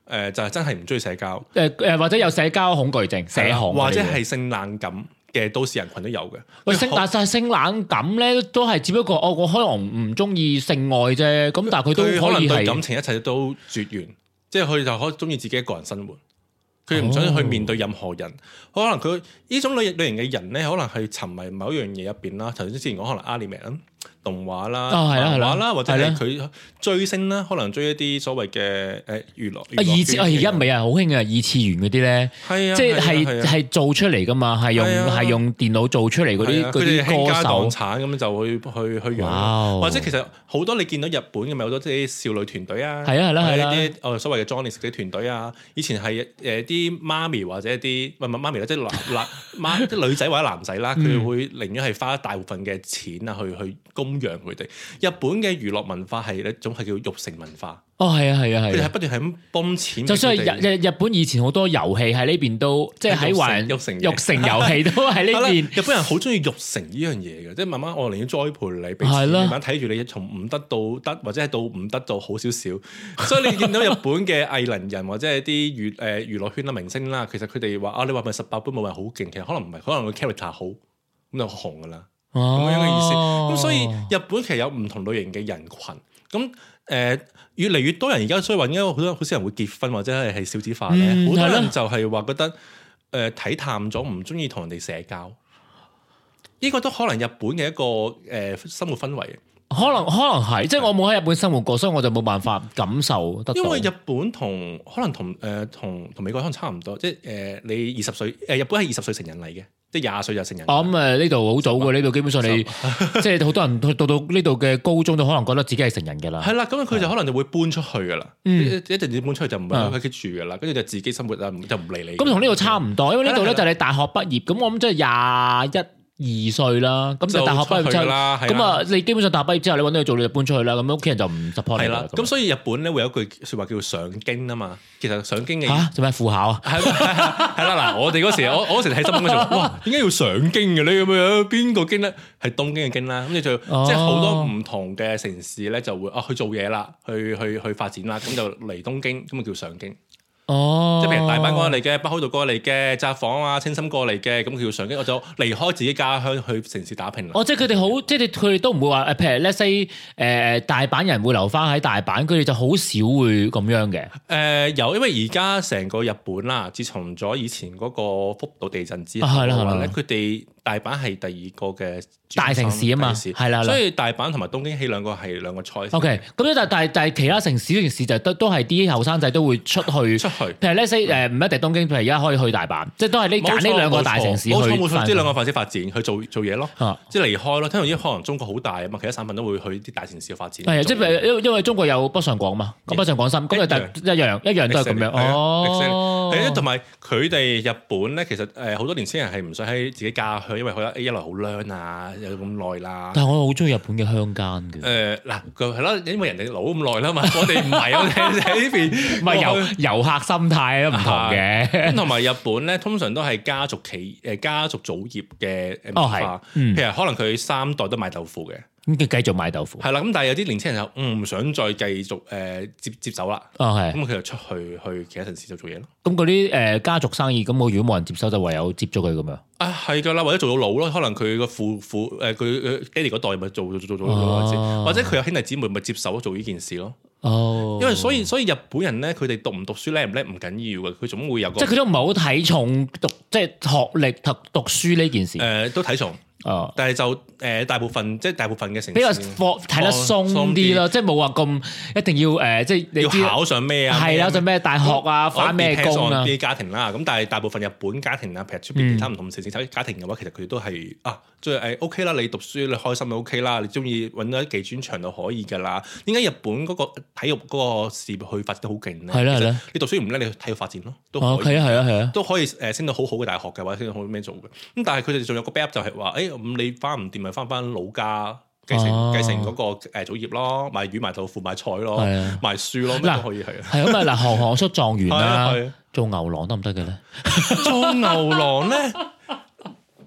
Speaker 2: 誒就係真係唔中意社交，
Speaker 1: 誒誒或者有社交恐懼症、社恐，
Speaker 2: 或者係性冷感嘅都市人群都有嘅。
Speaker 1: 喂，性但係性冷感咧，都係只不過哦，我可能唔中意性愛啫。咁但係佢都可以係
Speaker 2: 對感情一切都絕緣，即係佢就可以中意自己一個人生活。佢唔想去面對任何人，哦、可能佢呢種類類型嘅人咧，可能係沉迷某一樣嘢入邊啦。頭先之前講可能 anime 啦、動畫啦、漫畫啦，或者係佢追星啦，可能追一啲所謂嘅誒娛樂。啊，
Speaker 1: 二次啊，而家唔係啊，好興啊，二次元嗰啲咧，
Speaker 2: 係啊，
Speaker 1: 即係係係做出嚟噶嘛，係用係用電腦做出嚟嗰啲嗰啲歌手，
Speaker 2: 產咁就去去去養，或者其實好多你見到日本嘅咪好多啲少女團隊啊，
Speaker 1: 係啊係啦係啦，
Speaker 2: 啲哦所謂嘅 Johnny 嘅團隊啊，以前係誒啲媽咪或者啲唔係媽咪啦，即係男男媽即係女仔或者男仔啦，佢會寧願係花大部分嘅錢啊去去供養佢哋。日本嘅娛樂文化係一種係叫育成文化。
Speaker 1: 哦，係啊，係啊，係。
Speaker 2: 佢哋係不斷係咁泵錢。
Speaker 1: 就算係日日日本以前好多遊戲喺呢邊都，即係喺華人育成育成遊戲都喺呢邊。
Speaker 2: 日本人好中意育成呢樣嘢嘅，即係慢慢我寧願栽培你，俾錢慢慢睇住你從唔得到得，或者係到唔得到好少少。所以你見到日本嘅藝能人或者係啲娛誒娛樂圈啦明星啦，其實佢哋話啊，你話咪十八般武藝好勁，其實可能唔係，可能個 character 好咁就紅噶啦。咁、哦、樣嘅意思，咁所以日本其實有唔同類型嘅人群，咁誒、呃、越嚟越多人而家所以話，因為好多好少人會結婚或者係係少子化咧，好、嗯、多人就係話覺得誒睇、呃、淡咗，唔中意同人哋社交，呢、這個都可能日本嘅一個誒、呃、生活氛圍。
Speaker 1: 可能可能係，即係我冇喺日本生活過，所以我就冇辦法感受得到。因
Speaker 2: 為日本同可能同誒同同美國可能差唔多，即係誒、呃、你二十歲誒日本係二十歲成人嚟嘅，即係廿歲就成人。我諗誒呢度好早嘅，呢度基本上你即係好多人到到呢度嘅高中都可能覺得自己係成人㗎啦。係啦，咁佢就可能就會搬出去㗎啦，嗯、一陣子搬出去就唔喺屋企住㗎啦，跟住就自己生活啦，就唔理你。咁同呢度差唔多，因為呢度咧就係你大學畢業，咁我諗即係廿一。二歲啦，咁就大學畢業之後，咁啊，你基本上大學畢業之後，你揾到嘢做，你就搬出去啦。咁屋企人就唔 support 你啦。咁所以日本咧會有一句説話叫做上京啊嘛。其實上京嘅嚇做咩副考啊？係係啦嗱，我哋嗰時我我嗰時睇新聞嗰時候，哇，點解要上京嘅咧？咁樣邊個京咧？係東京嘅京啦。咁你就即係好多唔同嘅城市咧，就會啊去做嘢啦，去去去發展啦。咁就嚟東京，咁啊叫上京。哦，即係譬如大阪過嚟嘅，北海道過嚟嘅，札幌啊、青森過嚟嘅，咁佢要上京，我就離開自己家鄉去城市打拼啦。哦，即係佢哋好，即係佢哋都唔會話誒，譬如 let's say 誒、呃、大阪人會留翻喺大阪，佢哋就好少會咁樣嘅。誒、呃、有，因為而家成個日本啦，自從咗以前嗰個福島地震之後嘅話咧，佢哋大阪係第二個嘅大城市啊嘛，係啦，所以大阪同埋東京起兩個係兩個 choice。OK， 咁但係但係其他城市嗰件事就都都係啲後生仔都會出去出去。譬如 let's say 誒唔一定東京，譬如而家可以去大阪，即係都係呢揀呢兩個大城市去。冇錯冇錯，呢兩個城市發展去做做嘢咯，即係離開咯。聽到啲可能中國好大啊嘛，其他省份都會去啲大城市去發展。係即係因因為中國有北上廣嘛，咁北上廣深咁就一樣一樣都係咁樣。哦，係同埋佢哋日本咧，其實誒好多年輕人係唔想喺自己家鄉，因為覺得一來好靚啊，有咁耐啦。但係我好中意日本嘅鄉間嘅。誒嗱，佢係咯，因為人哋老咁耐啦嘛，我哋唔係，我哋喺呢邊唔係遊遊客心態都唔同嘅。咁同埋日本咧，通常都係家族企誒家族祖業嘅文化，譬如可能佢三代都賣豆腐嘅。咁佢繼續賣豆腐，係啦。咁但係有啲年輕人就唔想再繼續誒接接手啦。哦，係。咁佢就出去去其他城市就做嘢咯。咁嗰啲誒家族生意，咁我如果冇人接手，就唯有接咗佢咁樣。啊，係㗎啦，或者做到老咯。可能佢個父父誒佢爹哋嗰代咪做做做做做，或者佢有兄弟姊妹咪接手做呢件事咯。哦，因為所以所以日本人咧，佢哋讀唔讀書叻唔叻唔緊要嘅，佢總會有個即係佢都唔係好睇重讀即係學歷讀讀書呢件事。誒，都睇重。哦，但係就誒、呃、大部分即係大部分嘅城市比較放睇得鬆啲咯，即係冇話咁一定要誒、呃，即係你要考上咩啊？係啦，上咩大學啊，返咩工啊？啲家庭啦，咁但係大部分日本家庭啊，譬如出邊其他唔同城市睇家庭嘅話，嗯、其實佢哋都係啊，即係誒 OK 啦，你讀書你開心就 OK 啦，你中意揾到一技專長就可以㗎啦。點解日本嗰個體育嗰個事業去發展得好勁咧？係啦係啦，你讀書唔叻，你去體育發展咯，都可以。係啊係啊係啊，都可以誒升到好好嘅大學嘅，或者升到好咩做嘅。咁但係佢哋仲有個 backup 就係話誒。咁你翻唔掂咪翻翻老家繼承繼承嗰個誒祖業咯，賣魚賣豆腐賣菜咯，賣書咯，咩都可以係啊。係咁啊嗱，行行出狀元啦，做牛郎得唔得嘅咧？做牛郎咧，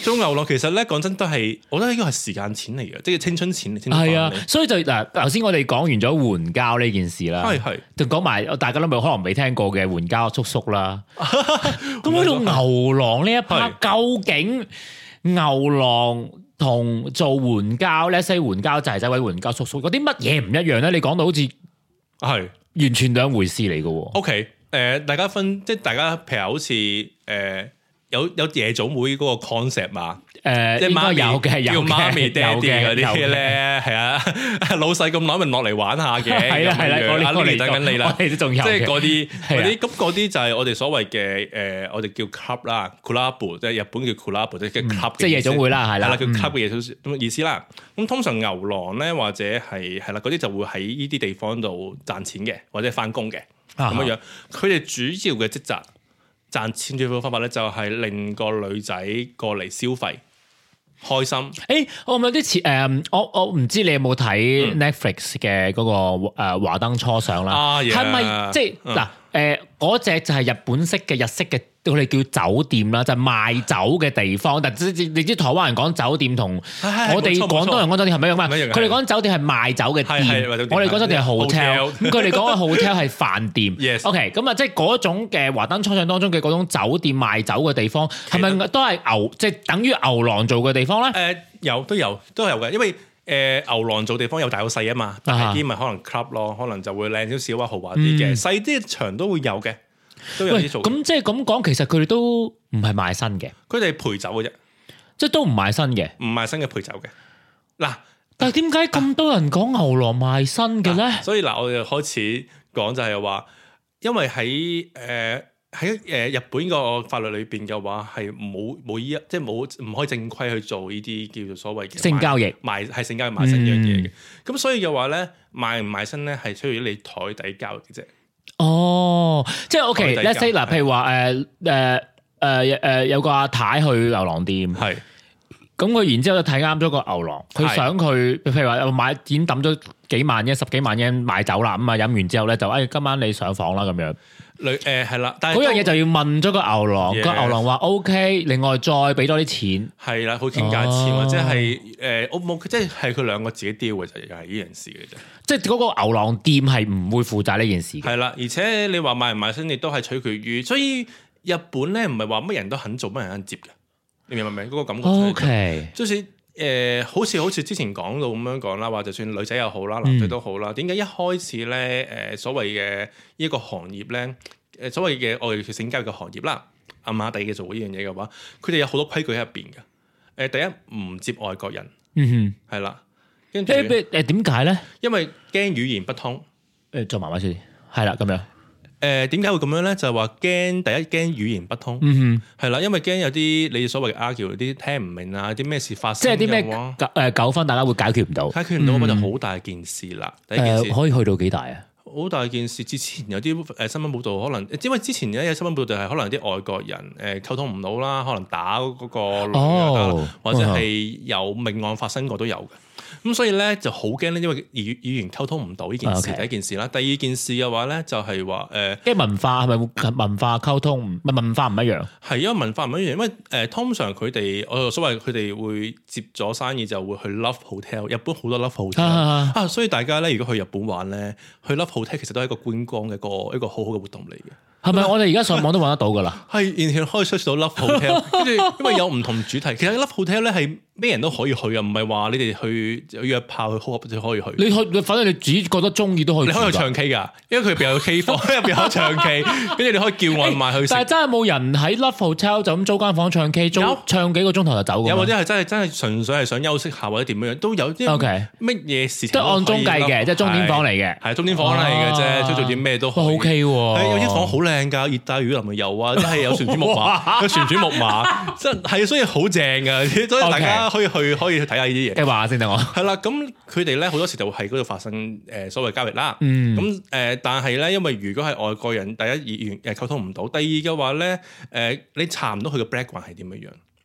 Speaker 2: 做牛郎其實咧講真都係，我覺得呢個係時間錢嚟嘅，即係青春錢。
Speaker 1: 係啊，所以就嗱，頭先我哋講完咗援交呢件事啦，
Speaker 2: 係係，
Speaker 1: 就講埋大家都冇可能未聽過嘅援交叔叔啦。咁喺度牛郎呢一 part，究竟牛郎同做援交咧，西援交仔仔或者援交叔叔有啲乜嘢唔一樣咧？你講到好似
Speaker 2: 係
Speaker 1: 完全兩回事嚟嘅。
Speaker 2: O K，誒，大家分即係大家譬如好似誒。呃有有夜總會嗰個 concept 嘛？誒，即係媽咪
Speaker 1: 有嘅，有
Speaker 2: 叫媽咪爹哋嗰啲
Speaker 1: 嘅
Speaker 2: 咧，係啊，老細咁耐咪落嚟玩下嘅，
Speaker 1: 係啦係啦，我
Speaker 2: 哋嚟等緊你啦，
Speaker 1: 我哋都仲有，
Speaker 2: 即係嗰啲嗰啲咁嗰啲就係我哋所謂嘅誒，我哋叫 club 啦 ，club 即係日本叫 club 即係 club，
Speaker 1: 即係夜總會啦，係啦，
Speaker 2: 叫 club 嘅夜總咁意思啦。咁通常牛郎咧或者係係啦嗰啲就會喺呢啲地方度賺錢嘅，或者翻工嘅咁樣樣。佢哋主要嘅職責。賺錢最好嘅方法咧，就係令個女仔過嚟消費，開心。誒、
Speaker 1: 欸，我有啲似誒，我我唔知你有冇睇 Netflix 嘅嗰個誒華燈初上啦，係咪、啊、即係嗱誒嗰隻就係日本式嘅日式嘅，佢哋叫酒店啦，就係、賣酒嘅地方。但係你知台灣人講酒店同我哋廣東人講酒店係咪一樣嘛？佢哋講酒店係賣酒嘅店，我哋講酒店係 hotel，咁佢哋講嘅 hotel 係飯店。
Speaker 2: Yes.
Speaker 1: OK， 咁啊，即係嗰種嘅華燈初上當中嘅嗰種酒店賣酒嘅地方，係咪都係牛即係、就是、等於牛郎做嘅地方咧？誒、
Speaker 2: 呃，有都有都有嘅，因為。誒、呃、牛郎做地方有大有細啊嘛，大啲咪可能 club 咯，可能就會靚少少啊，豪華啲嘅，細啲場都會有嘅，都有啲做。咁即係咁講，其實佢哋都唔係賣身嘅，佢哋陪酒嘅啫，即係都唔賣身嘅，唔賣身嘅陪酒嘅。嗱，但係點解咁多人講牛郎賣身嘅咧？所以嗱，我哋開始講就係話，因為喺誒。呃喺誒日本個法律裏邊嘅話係冇冇依一即係冇唔可以正規去做呢啲叫做所謂嘅性交易賣係性交易賣身呢樣嘢嘅，咁、嗯、所以嘅話咧賣唔賣身咧係需要你台底交易嘅啫。哦，即係 OK，let's say 嗱，譬如話誒誒誒誒有個阿太去牛郎店係。咁佢然之後就睇啱咗個牛郎，佢想佢譬如話買已經抌咗幾萬嘅十幾萬嘅買酒啦，咁啊飲完之後咧就誒、哎、今晚你上房啦咁樣。女誒係啦，但係嗰樣嘢就要問咗個牛郎，個、yes. 牛郎話 OK， 另外再俾多啲錢。係啦，佢傾價錢、哦、或者係誒我冇，即係係佢兩個自己 deal 嘅就又係呢件事嘅啫。即係嗰個牛郎店係唔會負責呢件事嘅。係啦，而且你話買唔買身亦都係取決於，所以日本咧唔係話乜人都肯做，乜人肯接嘅。你明唔明嗰個感覺？O K，即係誒，好似好似之前講到咁樣講啦，話就算女仔又好啦，男仔都好啦。點、嗯、解一開始咧誒、呃、所謂嘅呢一個行業咧誒所謂嘅我哋叫性交易嘅行業啦，暗啞底嘅做呢樣嘢嘅話，佢哋有好多規矩喺入邊嘅。誒、呃，第一唔接外國人，嗯哼，係啦，跟住誒誒點解咧？因為驚語言不通。誒，做埋埋先，係啦，咁樣。誒點解會咁樣咧？就係話驚第一驚語言不通，嗯哼，係啦，因為驚有啲你所謂嘅 argue 啲聽唔明啊，啲咩事發生，即係啲咩誒糾紛，大家會解決唔到，解決唔到咁、嗯、就好大件事啦。第一件事、呃、可以去到幾大啊？好大件事，之前有啲誒新聞報導，可能因為之前有新聞報導係可能啲外國人誒溝通唔到啦，可能打嗰個女、哦、或者係有命案發生過都有嘅。咁所以咧就好驚咧，因為語語言溝通唔到呢件事， okay. 第一件事啦。第二件事嘅話咧，就係話誒，即係文化係咪文化溝通唔係文化唔一樣？係因為文化唔一樣，因為誒、呃、通常佢哋我所謂佢哋會接咗生意就會去 Love Hotel，日本好多 Love Hotel 啊，啊，所以大家咧如果去日本玩咧，去 Love Hotel 其實都係一個觀光嘅一個一個好好嘅活動嚟嘅。係咪我哋而家上網都揾得到㗎啦？係完全可以 search 到 Love Hotel，跟住因為有唔同主題。其實 Love Hotel 咧係咩人都可以去啊，唔係話你哋去約炮去 hook up 就可以去。你去，反正你自己覺得中意都可以。你可以去唱 K 㗎，因為佢入邊有 K 房，入邊有唱 K，跟住你可以叫外賣去食。但係真係冇人喺 Love Hotel 就咁租間房唱 K，租唱幾個鐘頭就走㗎。有或者係真係真係純粹係想休息下或者點樣都有啲。O K，乜嘢事情都按鐘計嘅，即係鐘點房嚟嘅，係鐘點房嚟嘅啫，即係做啲咩都 O K 喎。有啲房好靚㗎，熱帶雨林咪有啊，真係有旋轉木馬，有旋轉木馬，真係所以好正㗎，所以大家可以去可以去睇下呢啲嘢。計劃先等我。係啦，咁佢哋咧好多時就會喺嗰度發生誒所謂交易啦。嗯。咁誒，但係咧，因為如果係外國人，第一語言誒溝通唔到，第二嘅話咧，誒你查唔到佢嘅 background 係點樣樣。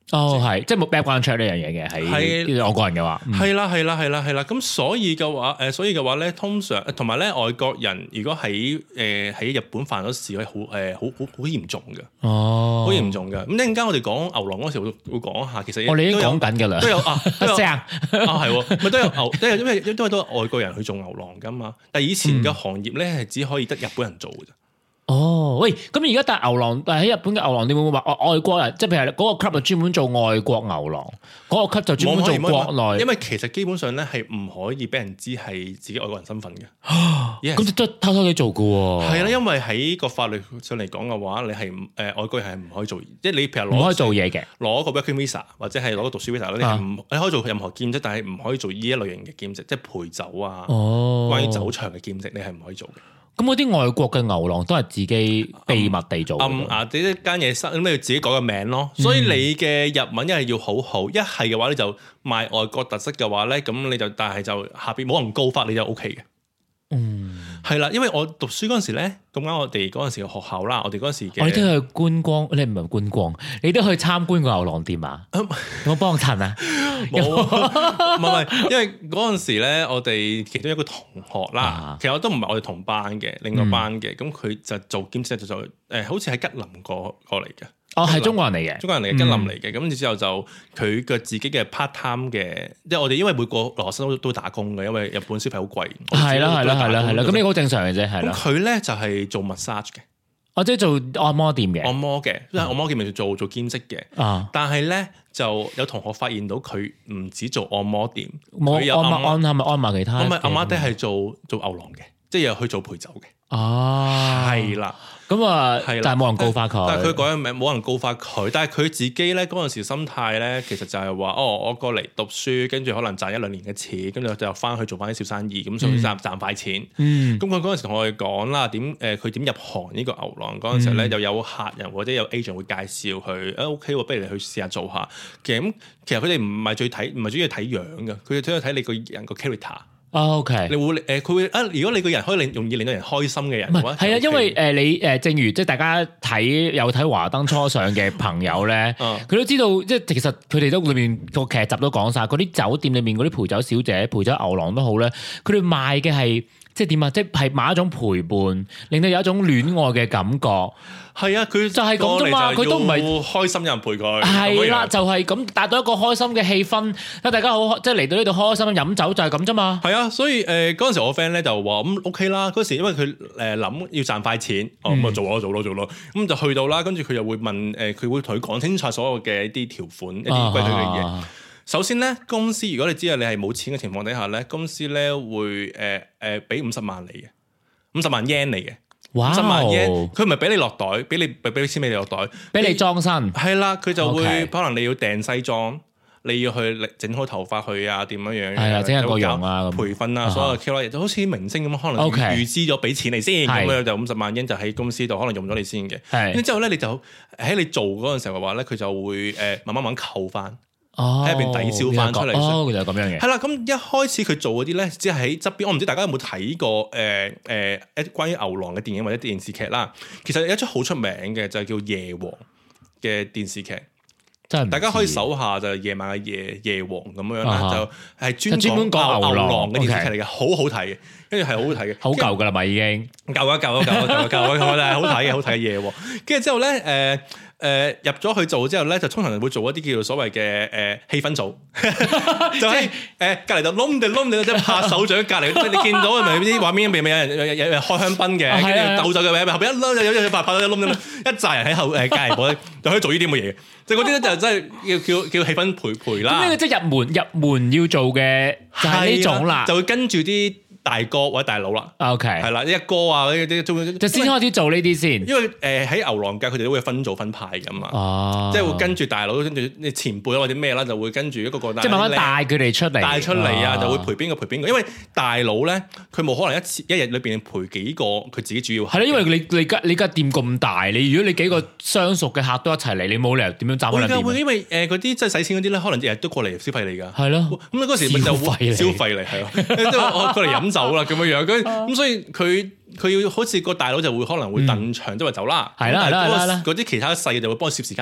Speaker 1: 哦，係，即係冇 background check 呢樣嘢嘅，喺我個人嘅話，
Speaker 2: 係啦，係啦，係啦，係啦。咁所以嘅話，誒，所以嘅話咧，通常同埋咧，外國人如果喺誒喺日本犯咗事，係好誒好好好嚴重嘅，哦，好嚴重嘅。咁一陣間我哋講牛郎嗰時會會講下，其實
Speaker 1: 我哋已經講緊㗎啦，
Speaker 2: 都有啊，
Speaker 1: 都有
Speaker 2: 啊係，咪都有牛，都有因為因為都係外國人去做牛郎㗎嘛。但係以前嘅行業咧係只可以得日本人做嘅啫。
Speaker 1: 哦，喂，咁而家但係牛郎，但係喺日本嘅牛郎店會唔會話外國人，即係譬如嗰個 club 就專門做外國牛郎，嗰、嗰個 club 就專門做國內，
Speaker 2: 因為其實基本上咧係唔可以俾人知係自己外國人身份嘅，
Speaker 1: 咁都偷偷地做嘅喎。
Speaker 2: 係啦，因為喺個法律上嚟講嘅話，你係誒、呃、外國人係唔可以做，即係你譬如攞
Speaker 1: 唔可以做嘢嘅，
Speaker 2: 攞個 working visa 或者係攞個讀書 visa 咧，你係唔你可以做任何兼職，但係唔可以做呢一類型嘅兼職，即係陪酒啊，哦、關於酒場嘅兼職，你係唔可以做嘅。
Speaker 1: 咁嗰啲外國嘅牛郎都係自己秘密地做，
Speaker 2: 暗啊！你一間嘢室咁你要自己改個名咯，所以你嘅日文一係要好好，一係嘅話你就賣外國特色嘅話咧，咁你就但係就下邊冇人告發你就 O K 嘅。嗯，係啦，因為我讀書嗰陣時咧，咁啱我哋嗰陣時嘅學校啦，我哋嗰陣時嘅，
Speaker 1: 我哋都去觀光，你唔係觀光，你都去參觀個牛郎店啊？有冇幫襯啊？
Speaker 2: 冇，唔係唔係，因為嗰陣時咧，我哋其中一個同學啦，啊、其實我都唔係我哋同班嘅，另外班嘅，咁佢、嗯、就做兼職就做，誒、呃，好似喺吉林過過嚟嘅。
Speaker 1: 哦，係中國人嚟嘅，
Speaker 2: 中國人嚟嘅，吉林嚟嘅，咁、嗯、之後就佢嘅自己嘅 part time 嘅，即係我哋因為每個留學生都都打工嘅，因為日本消費好貴。
Speaker 1: 係啦係啦係啦係啦，咁呢個好正常嘅啫，係啦。
Speaker 2: 咁佢咧就係、是、做 massage 嘅，
Speaker 1: 或者做按摩店嘅，
Speaker 2: 按摩嘅，因為按摩店咪做做兼職嘅。啊，但係咧就有同學發現到佢唔止做按摩店，佢有按摩按係咪按埋其他？唔係，阿媽爹係做做牛郎嘅，即係又去做陪酒嘅。哦，係啦。
Speaker 1: 咁啊，但係冇人告發佢。
Speaker 2: 但係佢改咗名，冇人告發佢。但係佢自己咧嗰陣時心態咧，其實就係話：哦，我過嚟讀書，跟住可能賺一兩年嘅錢，跟住就翻去做翻啲小生意，咁想賺賺快錢。咁佢嗰陣時同我哋講啦，點誒佢點入行呢個牛郎嗰陣時咧，又有客人或者有 agent 會介紹佢，誒 OK 喎，不如你去試下做下。其實咁，其實佢哋唔係最睇，唔係主要睇樣嘅，佢哋主要睇你個人個 character。
Speaker 1: 哦 OK，
Speaker 2: 你會誒佢會啊？如果你個人可以令容易令到人開心嘅人嘅話，
Speaker 1: 係啊，因為誒你誒正如即係大家睇有睇華燈初上嘅朋友咧，佢都知道即係其實佢哋都裏面個劇集都講晒，嗰啲酒店裏面嗰啲陪酒小姐、陪酒牛郎都好咧，佢哋賣嘅係即係點啊？即係賣一種陪伴，令到有一種戀愛嘅感覺。係啊，佢就係咁啫嘛，佢都唔係
Speaker 2: 開心有人陪佢。
Speaker 1: 係啦，就係咁達到一個開心嘅氣氛，大家好即係嚟到呢度開心飲酒就係咁啫嘛。
Speaker 2: 係啊，所以誒嗰陣時我 friend 咧就話咁 OK 啦。嗰時因為佢誒諗要賺快錢，哦咁啊做咯做咯做咯，咁就去到啦。跟住佢又會問誒，佢會同佢講清楚所有嘅一啲條款、一啲規矩嘅嘢。首先咧，公司如果你知道你係冇錢嘅情況底下咧，公司咧會誒誒俾五十萬你嘅，五十萬 yen 嚟嘅。五十萬 yen，佢唔係俾你落袋，俾你俾俾啲錢俾你落袋，
Speaker 1: 俾你裝身。
Speaker 2: 係啦，佢就會 Okay. 可能你要訂西裝，你要去整好頭髮去啊，點樣樣？係
Speaker 1: 啊，整下個樣啊，
Speaker 2: 培訓啊，所有 K O L 就好似明星咁，可能預
Speaker 1: Okay.
Speaker 2: 預支咗俾錢你先，咁樣就五十萬 yen 就喺公司度可能用咗你先嘅。係，之後咧你就喺你做嗰陣時候嘅話咧，佢就會誒慢慢慢扣翻。喺入邊抵消翻出嚟，
Speaker 1: 哦，就係咁樣嘅。
Speaker 2: 係啦，咁一開始佢做嗰啲咧，只係喺側邊。我唔知大家有冇睇過誒誒一關於牛郎嘅電影或者電視劇啦。其實有一出好出名嘅就係叫《夜王》嘅電視劇，真係大家可以搜下就係夜晚嘅夜夜王咁樣啦，就係專門講牛郎嘅電視劇嚟嘅，好好睇嘅，跟住係好好睇嘅，
Speaker 1: 好舊噶啦嘛已經，
Speaker 2: 舊啊舊啊舊啊舊啊舊啊，但係好睇嘅，好睇嘅夜王。跟住之後咧，誒。誒、呃、入咗去做之後咧，就通常會做一啲叫做所謂嘅誒氣氛組，就喺誒隔離度窿地窿地即係拍手掌隔離，你見到係咪啲畫面？咪咪有人有有人開香檳嘅，跟住鬥酒嘅位，後邊一冧有有有拍拍到一窿一紮人喺後誒隔離部咧，就可以做呢啲咁嘅嘢。就嗰啲咧就真係叫叫叫氣氛陪陪啦。咁呢個即係入門入門要做嘅就係呢種啦，就會跟住啲大哥或者大佬啦 ，OK，係啦，一哥啊嗰啲，就先開始做呢啲先。因為誒喺牛郎界，佢哋都會分組分派噶嘛，哦，即係會跟住大佬，跟住你前輩或者咩啦，就會跟住一個個，即係慢慢帶佢哋出嚟，帶出嚟啊，就會陪邊個陪邊個。因為大佬咧，佢冇可能一次一日裏邊陪幾個，佢自己主要係咯。因為你你間你間店咁大，你如果你幾個相熟嘅客都一齊嚟，你冇理由點樣站喺度？會因為誒嗰啲即係使錢嗰啲咧，可能日日都過嚟消費你㗎。係咯，咁你嗰時咪就消費嚟係咯，即係我過嚟飲酒啦咁樣樣，咁咁所以佢佢要好似個大佬就會可能會燉場即係話走啦，係啦係啦係啦，嗰啲其他細嘅就會幫佢攝時間咯。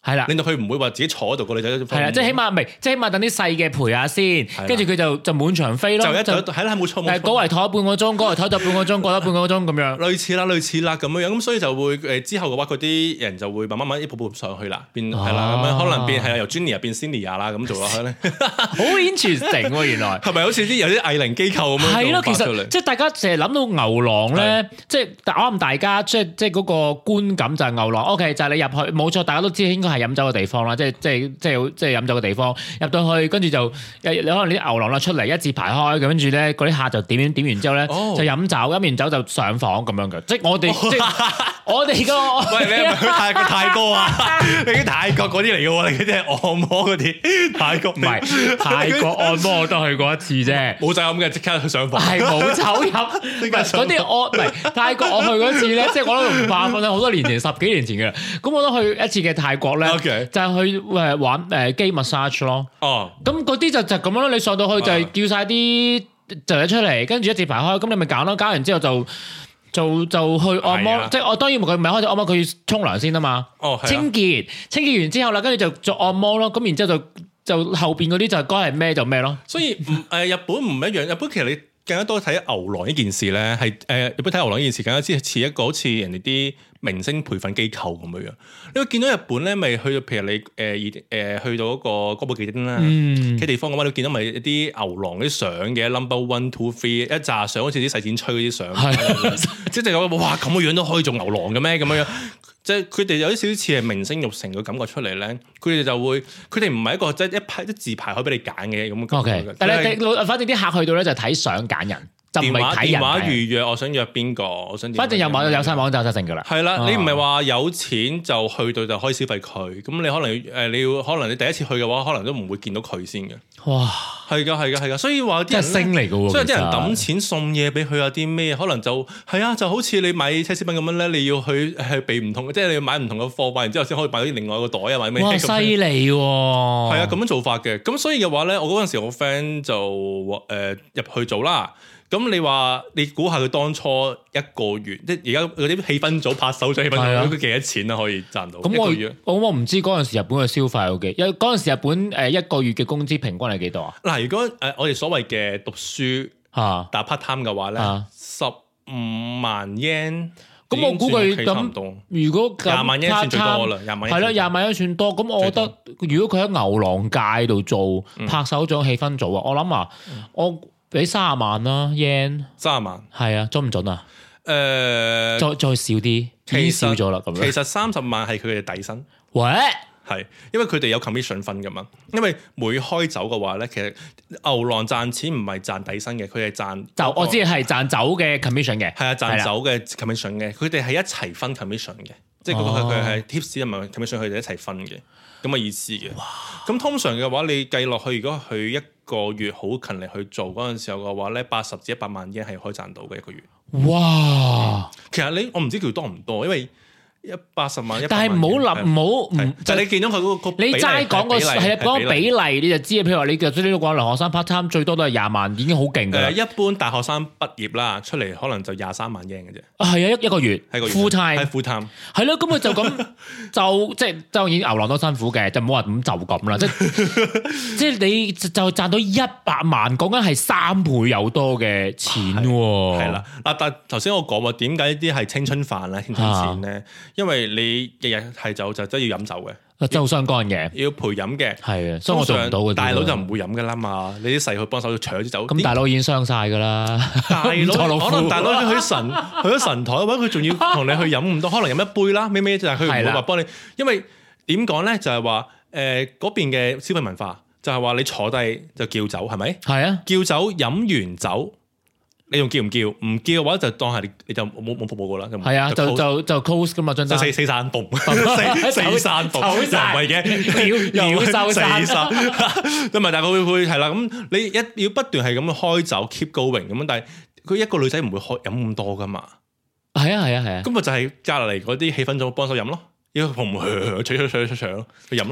Speaker 1: 係啦，
Speaker 2: 令到佢唔會話自己坐喺度個女仔。
Speaker 1: 係啦，即係起碼唔係，即係起碼等啲細嘅陪下先，跟住佢就就滿場飛咯。
Speaker 2: 就一就係啦，冇錯冇錯。
Speaker 1: 誒，嗰圍坐半個鐘，嗰圍坐咗半個鐘，過咗半個鐘咁樣。
Speaker 2: 類似啦，類似啦咁樣樣，咁所以就會誒之後嘅話，嗰啲人就會慢慢慢一步步上去啦，變係啦咁樣，可能變係由 Junior 變 Senior 啦咁做落去咧。
Speaker 1: 好 interesting 喎，原來
Speaker 2: 係咪好似啲有啲藝齡機構咁樣？
Speaker 1: 係咯，其實即係大家成日諗到牛郎咧，即係我諗大家即係即係嗰個觀感就係牛郎。OK，就係你入去冇錯，大家都知應該係飲酒嘅地方啦，即係即係即係即係飲酒嘅地方。入到去跟住就你可能啲牛郎啦出嚟一字排開，跟住咧嗰啲客就點點點完之後咧就飲酒，飲完酒就上房咁樣嘅。即係我哋即係我哋個
Speaker 2: 喂，你係咪去泰國泰國啊？你啲泰國嗰啲嚟嘅喎，你嗰啲係按摩嗰啲泰國，
Speaker 1: 唔係泰國按摩我都去過一次啫，
Speaker 2: 冇酒飲嘅即刻去上房，
Speaker 1: 係冇酒飲，唔係嗰啲我唔係泰國我去嗰次咧，即係我都唔怕瞓啦，好多年前十幾年前嘅啦。咁我都去一次嘅泰國咧，okay. 就係去誒玩誒機 massage 咯。哦，咁嗰啲就就咁樣咯。你上到去就係叫晒啲就係出嚟，跟住一字排開，咁你咪揀咯。揀完之後就就就去按摩，即係我當然佢唔係開始按摩，佢要沖涼先啊嘛。哦，清潔清潔完之後啦，跟住就做按摩咯。咁然之後就就後邊嗰啲就該係咩就咩咯。
Speaker 2: 所以唔誒日本唔一樣，日本其實你更加多睇牛郎呢件事咧，係誒日本睇牛郎呢件事更加之似一個好似人哋啲明星培訓機構咁樣樣。你會見到日本咧，咪去到譬如你誒誒、呃、去到嗰個歌舞伎町啦嘅地方嘅話，你會見到咪一啲牛郎啲相嘅 number one two three 一紮相，好似啲洗剪吹嗰啲相，即係有哇咁嘅樣都可以做牛郎嘅咩咁樣樣？即係佢哋有啲少少似係明星育成嘅感覺出嚟咧，佢哋就會佢哋唔係一個即係一排一字排開俾你揀嘅咁嘅感覺。
Speaker 1: Okay. 但係你反正啲客去到咧就睇相揀人。電話
Speaker 2: 電話預約，我想約邊個？我想
Speaker 1: 反正有網有晒網就得成噶啦。
Speaker 2: 係啦，你唔係話有錢就去到就可以消費佢，咁你可能誒你要可能你第一次去嘅話，可能都唔會見到佢先嘅。哇，係噶係噶係噶，所以話啲人
Speaker 1: 星嚟噶喎，
Speaker 2: 所以啲人抌錢送嘢俾佢有啲咩？可能就係啊，就好似你買奢侈品咁樣咧，你要去係備唔同嘅，即係你要買唔同嘅貨，買完之後先可以買到另外一個袋啊，買咩？
Speaker 1: 哇，犀利喎！
Speaker 2: 係啊，咁樣做法嘅。咁所以嘅話咧，我嗰陣時我 friend 就誒入去做啦。咁你話你估下佢當初一個月，即係而家嗰啲氣氛組拍手掌氣氛組，佢幾多錢啊？可以賺到？咁
Speaker 1: 我我我唔知嗰陣時日本嘅消費有幾，因為嗰陣時日本誒一個月嘅工資平均係幾多啊？嗱，
Speaker 2: 如果誒我哋所謂嘅讀書嚇打 part time 嘅話咧，十五萬 yen，咁我估佢咁，如果廿萬 yen 算最多啦，廿萬
Speaker 1: 係啦，廿萬 yen 算多。咁我覺得如果佢喺牛郎界度做拍手掌氣氛組啊，我諗啊，我。俾三十萬啦 yen，
Speaker 2: 三十萬
Speaker 1: 係啊，準唔準啊？誒、
Speaker 2: 呃，
Speaker 1: 再再少啲，已經少咗啦。咁樣
Speaker 2: 其實三十萬係佢哋嘅底薪。
Speaker 1: 喂，
Speaker 2: 係因為佢哋有 commission 分噶嘛。因為每開酒嘅話咧，其實牛郎賺錢唔係賺底薪嘅，佢係賺
Speaker 1: 就我知係賺酒嘅 commission 嘅。
Speaker 2: 係啊，賺酒嘅 commission 嘅，佢哋係一齊分 commission 嘅，即係佢佢係 tips 同埋 commission 佢哋一齊分嘅咁嘅意思嘅。咁通常嘅話，你計落去，如果佢一個月好勤力去做嗰陣時候嘅話咧，八十至一百萬 yen 係可以賺到嘅一個月。哇！嗯、其實你我唔知叫多唔多，因為一八十萬，
Speaker 1: 但係唔好諗，唔好
Speaker 2: 就你見到佢嗰個
Speaker 1: 你齋講個係啊講個比例，你就知啊。譬如話你嘅呢個留學生 part time 最多都係廿萬，已經好勁㗎啦。
Speaker 2: 一般大學生畢業啦，出嚟可能就廿三萬 yen 嘅啫。
Speaker 1: 啊，係啊，一一個月，
Speaker 2: 係個月
Speaker 1: full time，
Speaker 2: 係 full time，
Speaker 1: 係咯。咁佢就咁就即係當然牛郎都辛苦嘅，就唔好話咁就咁啦。即係即係你就賺到一百萬，講緊係三倍有多嘅錢喎。係啦，
Speaker 2: 嗱，但係頭先我講話點解呢啲係青春飯咧、青春錢咧？因為你日日係酒就真係要飲酒嘅，
Speaker 1: 真係好相干嘅，
Speaker 2: 要陪飲嘅，
Speaker 1: 係啊，所以我做唔到嘅。
Speaker 2: 大佬就唔會飲噶啦嘛，你啲細去幫手搶啲酒。
Speaker 1: 咁大佬已經傷晒噶啦，
Speaker 2: 大佬可能大佬去神去咗神台，或者佢仲要同你去飲咁多，可能飲一杯啦，咩咩就係佢唔會話幫你，因為點講咧就係話誒嗰邊嘅消費文化就係話你坐低就叫酒係咪？係啊，叫酒飲完酒。你仲叫唔叫？唔叫嘅話就當係你，你就冇冇服務過啦。係啊，就就就 close 噶嘛，張單四四散步，四四散步，又唔係嘅，
Speaker 1: 秒秒收散。
Speaker 2: 咁咪但係佢會係啦。咁你一要不斷係咁樣開酒 keep going 咁樣，但係佢一個女仔唔會開飲咁多噶嘛。
Speaker 1: 係啊係啊係啊。
Speaker 2: 咁咪就係隔離嗰啲氣氛組幫手飲咯，要紅紅搶搶搶搶搶去飲咯。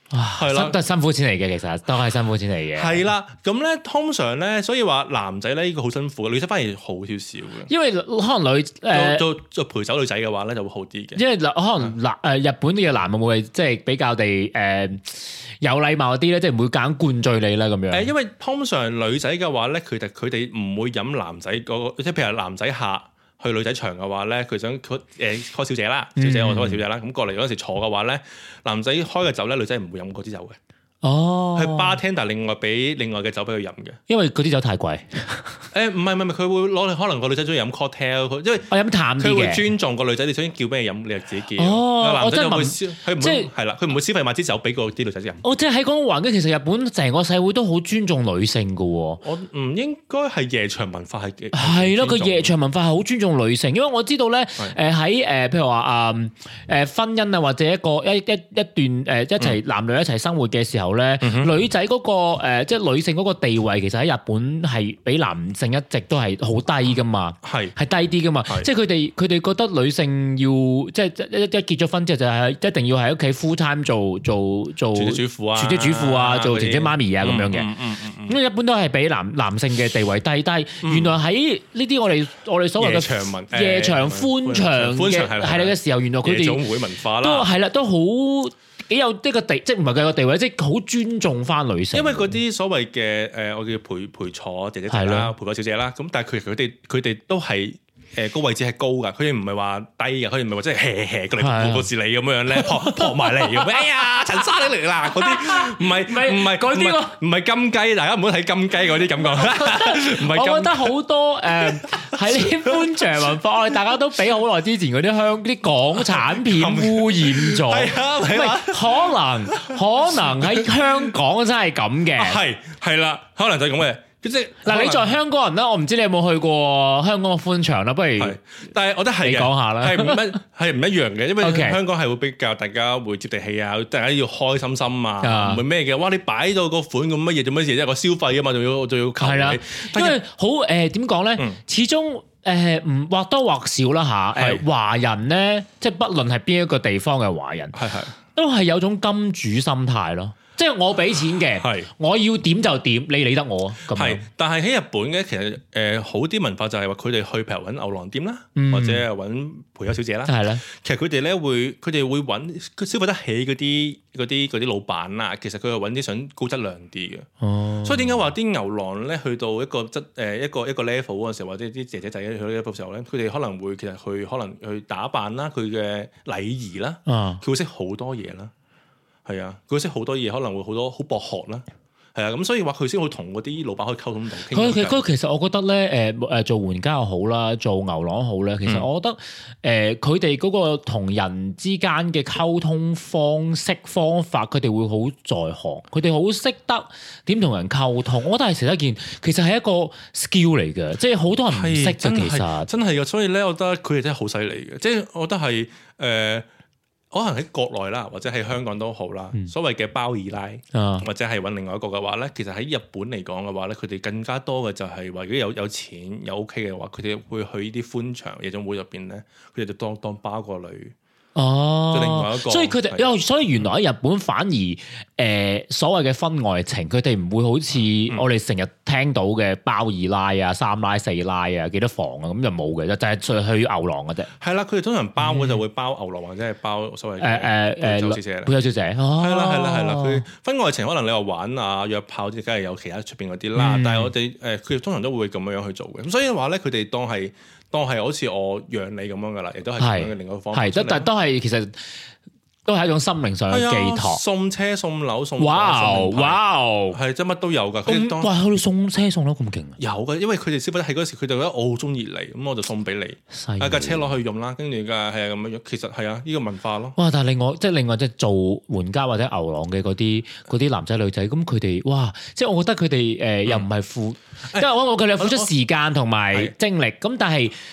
Speaker 2: 係啦，
Speaker 1: 都係辛苦錢嚟嘅，其實都係辛苦錢嚟嘅。
Speaker 2: 係啦，咁咧通常咧，所以話男仔咧呢個好辛苦嘅，女仔反而好少少嘅。
Speaker 1: 因為可能女誒
Speaker 2: 做做陪酒女仔嘅話咧就會好啲嘅。
Speaker 1: 因為可能男誒日本嘅男會唔會即係比較地誒有禮貌啲咧，即係唔會揀灌醉你啦咁樣。
Speaker 2: 誒，因為通常女仔嘅話咧，佢哋佢哋唔會飲男仔嗰個，即係譬如男仔客去女仔場嘅話咧，佢想佢誒 call 小姐啦，小姐我 call 小姐啦，咁過嚟嗰陣時坐嘅話咧，男仔開嘅酒咧，女仔唔會飲嗰支酒嘅。
Speaker 1: 哦，
Speaker 2: 係 bartender 另外俾另外嘅酒俾佢飲嘅，
Speaker 1: 因為嗰啲酒太貴。
Speaker 2: 誒唔係唔係，佢會攞可能個女仔中意飲 cocktail，因為
Speaker 1: 我飲淡啲嘅。
Speaker 2: 佢會尊重個女仔，你想叫咩飲，你就自己叫。
Speaker 1: 哦，
Speaker 2: 男仔就會
Speaker 1: 消，
Speaker 2: 佢唔會係啦，佢唔會消費買支酒俾個啲女仔飲。
Speaker 1: 哦，即係喺嗰個環境，其實日本成個社會都好尊重女性㗎喎。
Speaker 2: 我唔應該係夜場文化係嘅。
Speaker 1: 係咯，個夜場文化係好尊重女性，因為我知道咧，誒喺誒譬如話啊誒婚姻啊或者一個一一一段誒一齊男女一齊生活嘅時候咧，女仔嗰個誒即係女性嗰個地位，其實喺日本係比男性一直都係好低噶嘛，係係低啲噶嘛，即係佢哋佢哋覺得女性要即係一一結咗婚之後就係一定要喺屋企 full time 做做做
Speaker 2: 全職主婦啊，
Speaker 1: 全職主婦啊，做姐姐媽咪啊咁樣嘅，咁一般都係比男男性嘅地位低。但係原來喺呢啲我哋我哋所謂嘅夜場歡場嘅係你嘅時候，原來佢哋
Speaker 2: 夜總會文化啦，
Speaker 1: 都係啦，都好。幾有呢個地，即係唔係佢個地位，即係好尊重翻女性。
Speaker 2: 因為嗰啲所謂嘅誒，我叫陪陪坐姐姐仔啦，陪坐小姐啦，咁但係佢佢哋佢哋都係誒個位置係高㗎，佢哋唔係話低㗎，佢哋唔係話即係 hea hea 過嚟過視你咁樣咧，撲撲埋嚟咁。哎呀，陳生你嚟啦！嗰啲唔係唔係嗰啲唔係金雞，大家唔好睇金雞嗰啲感覺。唔係，
Speaker 1: 我覺得好多誒喺啲歡場文化，我哋大家都比好耐之前嗰啲香啲港產片污染咗。係啊，唔係可能可能喺香港真係咁嘅。
Speaker 2: 係係啦，可能就係咁嘅。即係
Speaker 1: 嗱，你作為香港人啦，我唔知你有冇去過香港嘅歡場啦，不如，
Speaker 2: 但係我覺得係
Speaker 1: 你講下啦，
Speaker 2: 係唔一係唔一樣嘅，因為香港係會比較大家會接地氣啊，大家要開心心啊，唔係咩嘅，哇！你擺到個款咁乜嘢做乜嘢，即係個消費啊嘛，仲要仲要求你，
Speaker 1: 因為好誒點講咧，始終誒唔或多或少啦嚇，誒華人咧，即係不論係邊一個地方嘅華人，係係都係有種金主心態咯。即係我俾錢嘅，係我要點就點，你理得我啊？咁
Speaker 2: 係，但係喺日本嘅其實誒、呃、好啲文化就係話佢哋去譬如揾牛郎店啦，嗯、或者係揾陪酒小姐啦，係啦。其實佢哋咧會，佢哋會揾消費得起嗰啲嗰啲嗰啲老闆啦。其實佢係揾啲想高質量啲嘅。哦，所以點解話啲牛郎咧去到一個質誒一個一個 level 嗰陣時候，或者啲姐姐仔去到 level 時候咧，佢哋可能會其實去可能去打扮啦，佢嘅禮儀啦，佢、嗯、會識好多嘢啦。係啊，佢識好多嘢，可能會好多好博學啦。係啊，咁所以話佢先會同嗰啲老闆可以溝通到。
Speaker 1: 佢其實其實我覺得咧，誒誒做援交又好啦，做牛郎好咧。其實我覺得誒佢哋嗰個同人之間嘅溝通方式方法，佢哋會好在行，佢哋好識得點同人溝通。我覺得係成一件，其實係一個 skill 嚟嘅，即係好多人唔識嘅。其實真係
Speaker 2: 嘅，所以咧，我覺得佢哋真係好犀利嘅。即係我覺得係誒。呃可能喺國內啦，或者喺香港都好啦。嗯、所謂嘅包二奶，啊、或者係揾另外一個嘅話咧，其實喺日本嚟講嘅話咧，佢哋更加多嘅就係話，如果有有錢有 OK 嘅話，佢哋會去呢啲歡場夜總會入邊咧，佢哋就當當包個女。
Speaker 1: 哦，
Speaker 2: 另外一個，
Speaker 1: 所以佢哋，因為所以原來喺日本反而誒、呃、所謂嘅婚外情，佢哋唔會好似我哋成日聽到嘅包二奶啊、三奶四奶啊、幾多房啊咁就冇嘅，就就係去牛郎嘅啫。係
Speaker 2: 啦，佢哋通常包嘅就會包牛郎或者係包所謂誒誒誒陪酒小姐啦。
Speaker 1: 陪酒小姐，係啦
Speaker 2: 係啦係啦，佢婚外情可能你話玩啊約炮啲，梗係有其他出邊嗰啲啦。嗯、但係我哋誒佢哋通常都會咁樣樣去做嘅。咁所以話咧，佢哋當係。當係好似我養你咁樣噶啦，亦都係咁樣嘅另一個方法。係，
Speaker 1: 但都係其實都係一種心靈上嘅寄託。
Speaker 2: 送車送樓送
Speaker 1: 哇哇，係
Speaker 2: 即係乜都有噶。
Speaker 1: 咁哇，佢哋送車送樓咁勁啊！
Speaker 2: 有嘅，因為佢哋消費得起嗰時，佢就覺得我好中意你，咁我就送俾你。啊架車攞去用啦，跟住嘅係啊咁樣樣。其實係啊，呢個文化咯。
Speaker 1: 哇！但係另外即係另外即係做援交或者牛郎嘅嗰啲嗰啲男仔女仔，咁佢哋哇！即係我覺得佢哋誒又唔係付，因為我我佢哋付出時間同埋精力，咁但係。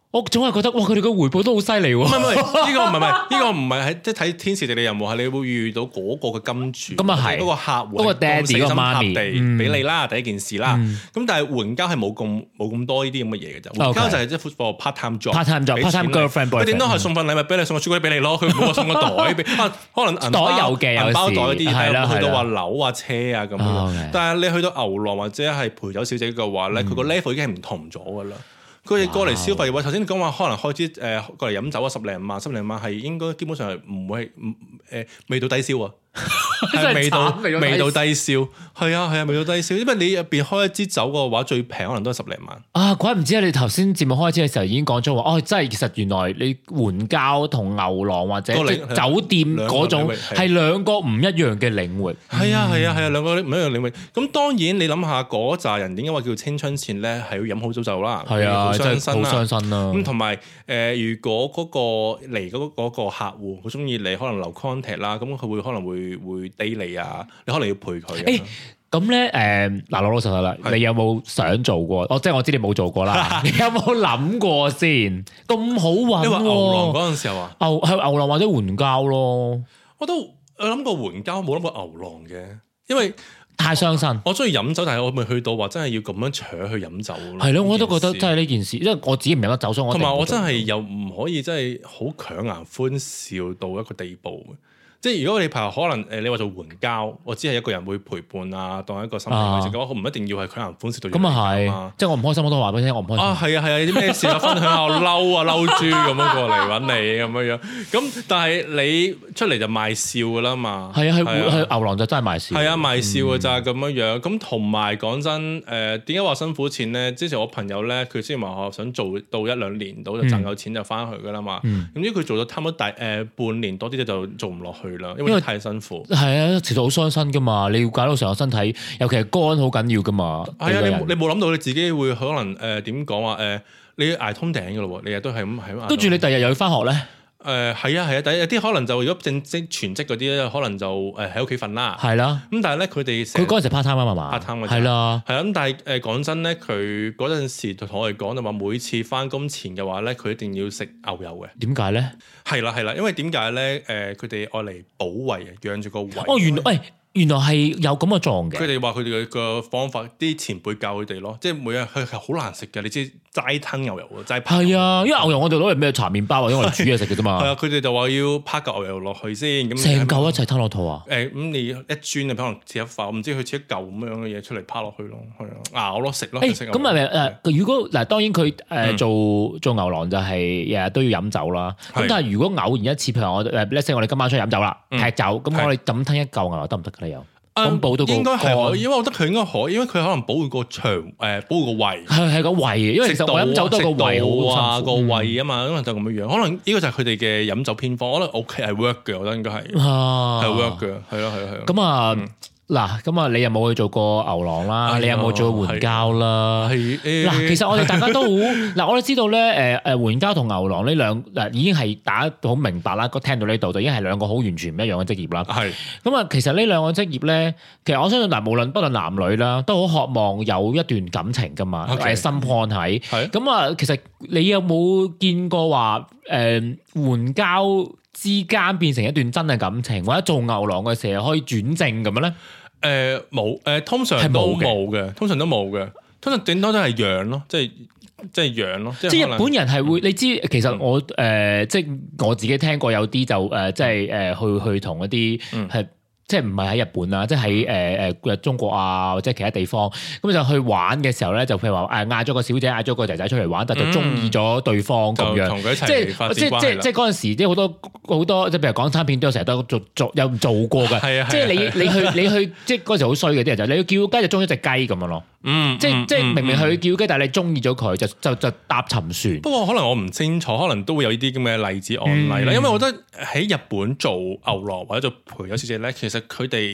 Speaker 1: 我總係覺得哇，佢哋個回報都好犀利喎。
Speaker 2: 唔係唔係，呢個唔係唔係，呢個唔係喺即係睇天時地利人和，係你會遇到嗰個嘅金主，
Speaker 1: 咁啊係
Speaker 2: 嗰個客戶，
Speaker 1: 嗰個爹哋個媽咪
Speaker 2: 地俾你啦，第一件事啦。咁但係援交係冇咁冇咁多呢啲咁嘅嘢嘅啫，援交就係即係 for part time job，part
Speaker 1: time job，part time girlfriend，
Speaker 2: 佢點都係送份禮物俾你，送個朱古力俾你咯，佢唔好話送個袋俾，可能
Speaker 1: 袋有嘅，
Speaker 2: 銀包袋嗰啲
Speaker 1: 係啦，
Speaker 2: 去到話樓啊車啊咁樣。但係你去到牛郎或者係陪酒小姐嘅話咧，佢個 level 已經係唔同咗噶啦。佢哋過嚟消費嘅話，頭先你講話可能開支誒、呃、過嚟飲酒啊，十零萬、十零萬係應該基本上係唔會係誒未到低消啊，係未到未到低消，係啊係啊未到低消，因為你入邊開一支酒嘅話，最平可能都係十零萬
Speaker 1: 啊！怪唔知啊！你頭先節目開始嘅時候已經講咗話，哦，真係其實原來你援交同牛郎或者即酒店嗰種係兩個唔一樣嘅領域。
Speaker 2: 係啊係啊係啊，兩個唔一樣領域。咁當然你諗下嗰扎人點解話叫青春錢咧？係要飲好早酒啦，
Speaker 1: 係啊，真係好傷身啦。
Speaker 2: 咁同埋誒，如果嗰個嚟嗰嗰個客戶好中意你，可能留 contact 啦，咁佢會可能會會 date 你啊，你可能要陪佢。
Speaker 1: 誒咁咧誒嗱，老老實實啦，你有冇想做過？我即係我知你冇做過啦，你有冇諗過先？咁好揾喎！
Speaker 2: 你話牛郎嗰陣時候啊，
Speaker 1: 牛係牛郎或者援交咯。
Speaker 2: 我都我諗過援交，冇諗過牛郎嘅，因為
Speaker 1: 太傷身。
Speaker 2: 我中意飲酒，但係我未去到話真係要咁樣搶去飲酒咯。
Speaker 1: 係咯，我都覺得真係呢件事，因為我自己唔飲得酒，所以我
Speaker 2: 同埋我真係又唔可以真係好強顏歡笑到一個地步。即係如果你譬如可能誒，你話做援交，我只係一個人會陪伴啊，當一個心理慰藉嘅話，我唔一定要係強顏歡笑到。咁啊係，
Speaker 1: 即係我唔開心我都話俾你聽，我唔開心。
Speaker 2: 啊係啊係啊，啲咩事啊？分享下我嬲啊嬲豬咁樣過嚟揾你咁樣樣。咁但係你出嚟就賣笑噶啦嘛。係啊係係，
Speaker 1: 牛郎就真係賣笑。
Speaker 2: 係啊賣笑嘅咋咁樣樣。咁同埋講真誒，點解話辛苦錢咧？之前我朋友咧，佢之前話我想做到一兩年到就賺夠錢就翻去噶啦嘛。咁因為佢做咗差唔多大誒半年多啲就做唔落去啦，因為太辛苦。係
Speaker 1: 啊，其實好傷身噶嘛，你要搞到成個身體，尤其係肝好緊要噶嘛。
Speaker 2: 係啊，你你冇諗到你自己會可能誒點講話誒，你捱通頂噶咯喎，你日都係咁係咁。
Speaker 1: 跟住你第日又要翻學咧？
Speaker 2: 誒係啊係啊，第有啲可能就如果正職全職嗰啲咧，可能就誒喺屋企瞓啦。係啦。咁但係咧，佢哋
Speaker 1: 佢嗰陣時 part time 啊嘛
Speaker 2: part time
Speaker 1: 係啦。
Speaker 2: 係啊，咁但係誒講真咧，佢嗰陣時就同我哋講就話，每次翻工前嘅話咧，佢一定要食牛油嘅。
Speaker 1: 點解咧？
Speaker 2: 係啦係啦，因為點解咧？誒佢哋愛嚟保胃啊，養住個胃。
Speaker 1: 哦，原來喂。原來係有咁嘅狀嘅。
Speaker 2: 佢哋話佢哋嘅方法，啲前輩教佢哋咯，即係每日佢係好難食嘅。你知齋吞牛油喎，齋拍。係
Speaker 1: 啊，因為牛油我哋攞嚟咩搽麵包或者我哋煮嘢食嘅啫嘛。
Speaker 2: 係啊，佢哋就話要拍嚿牛油落去先，咁
Speaker 1: 成嚿一齊吞落肚啊？
Speaker 2: 誒、欸，咁你一磚你可能切一塊，我唔知佢切一嚿咁樣嘅嘢出嚟拍落去咯，係啊，咬咯食咯。誒，
Speaker 1: 咁係咪誒？如果嗱，當然佢誒做、嗯、做牛郎就係日日都要飲酒啦。咁但係如果偶然一次，譬如我誒，let's say我哋今晚出去飲酒啦，劈酒，咁、嗯、我哋咁吞一嚿牛油得唔得㗎？你又？咁補到個
Speaker 2: 應該係可以，因為我覺得佢應該可以，因為佢可能保護個腸誒，保護個胃
Speaker 1: 係係個胃，因為其實我飲酒都係個胃好
Speaker 2: 啊個胃啊嘛，可能就咁樣樣，可能呢個就係佢哋嘅飲酒偏方，可能 OK 係 work 嘅，我覺得應該係係 work 嘅，係咯係咯係咯。
Speaker 1: 咁啊嗱，咁啊你有冇去做過牛郎啦？你有冇做過援交啦？嗱，其實我哋大家都好嗱，我哋知道咧誒誒援交同牛郎呢兩嗱已經係大家好明白啦，聽到呢度就已經係兩個好完全唔一樣嘅職業啦。係咁啊，其實呢兩個職業咧，其實我相信嗱，無論不論男女啦，都好渴望有一段感情噶嘛，誒心漢喺。係咁啊，其實你有冇見過話誒援交之間變成一段真嘅感情，或者做牛郎嘅時候可以轉正咁樣咧？
Speaker 2: 誒冇誒，通常都冇嘅，通常都冇嘅，通常頂多都係養咯，即係即係養咯。即係日
Speaker 1: 本人係會，你知其實我誒、呃、即係我自己聽過有啲就誒、呃、即係誒、呃、去去同一啲係。嗯即係唔係喺日本啊，即係喺誒誒中國啊，或者其他地方，咁就去玩嘅時候咧，就譬如話誒嗌咗個小姐，嗌咗個仔仔出嚟玩，但就中意咗對方咁樣，
Speaker 2: 同佢一齊
Speaker 1: 即係即係即係即係嗰陣時，即係好多好多即係譬如港產片都成日都做做有做過嘅，係啊，即係你你去你去即係嗰陣時好衰嘅啲人就你要叫雞就中意隻雞咁樣咯，嗯，即係即係明明佢叫雞，但係你中意咗佢就就就搭沉船。
Speaker 2: 不過可能我唔清楚，可能都會有呢啲咁嘅例子案例啦，因為我覺得喺日本做牛郎或者做陪酒小姐咧，其實佢哋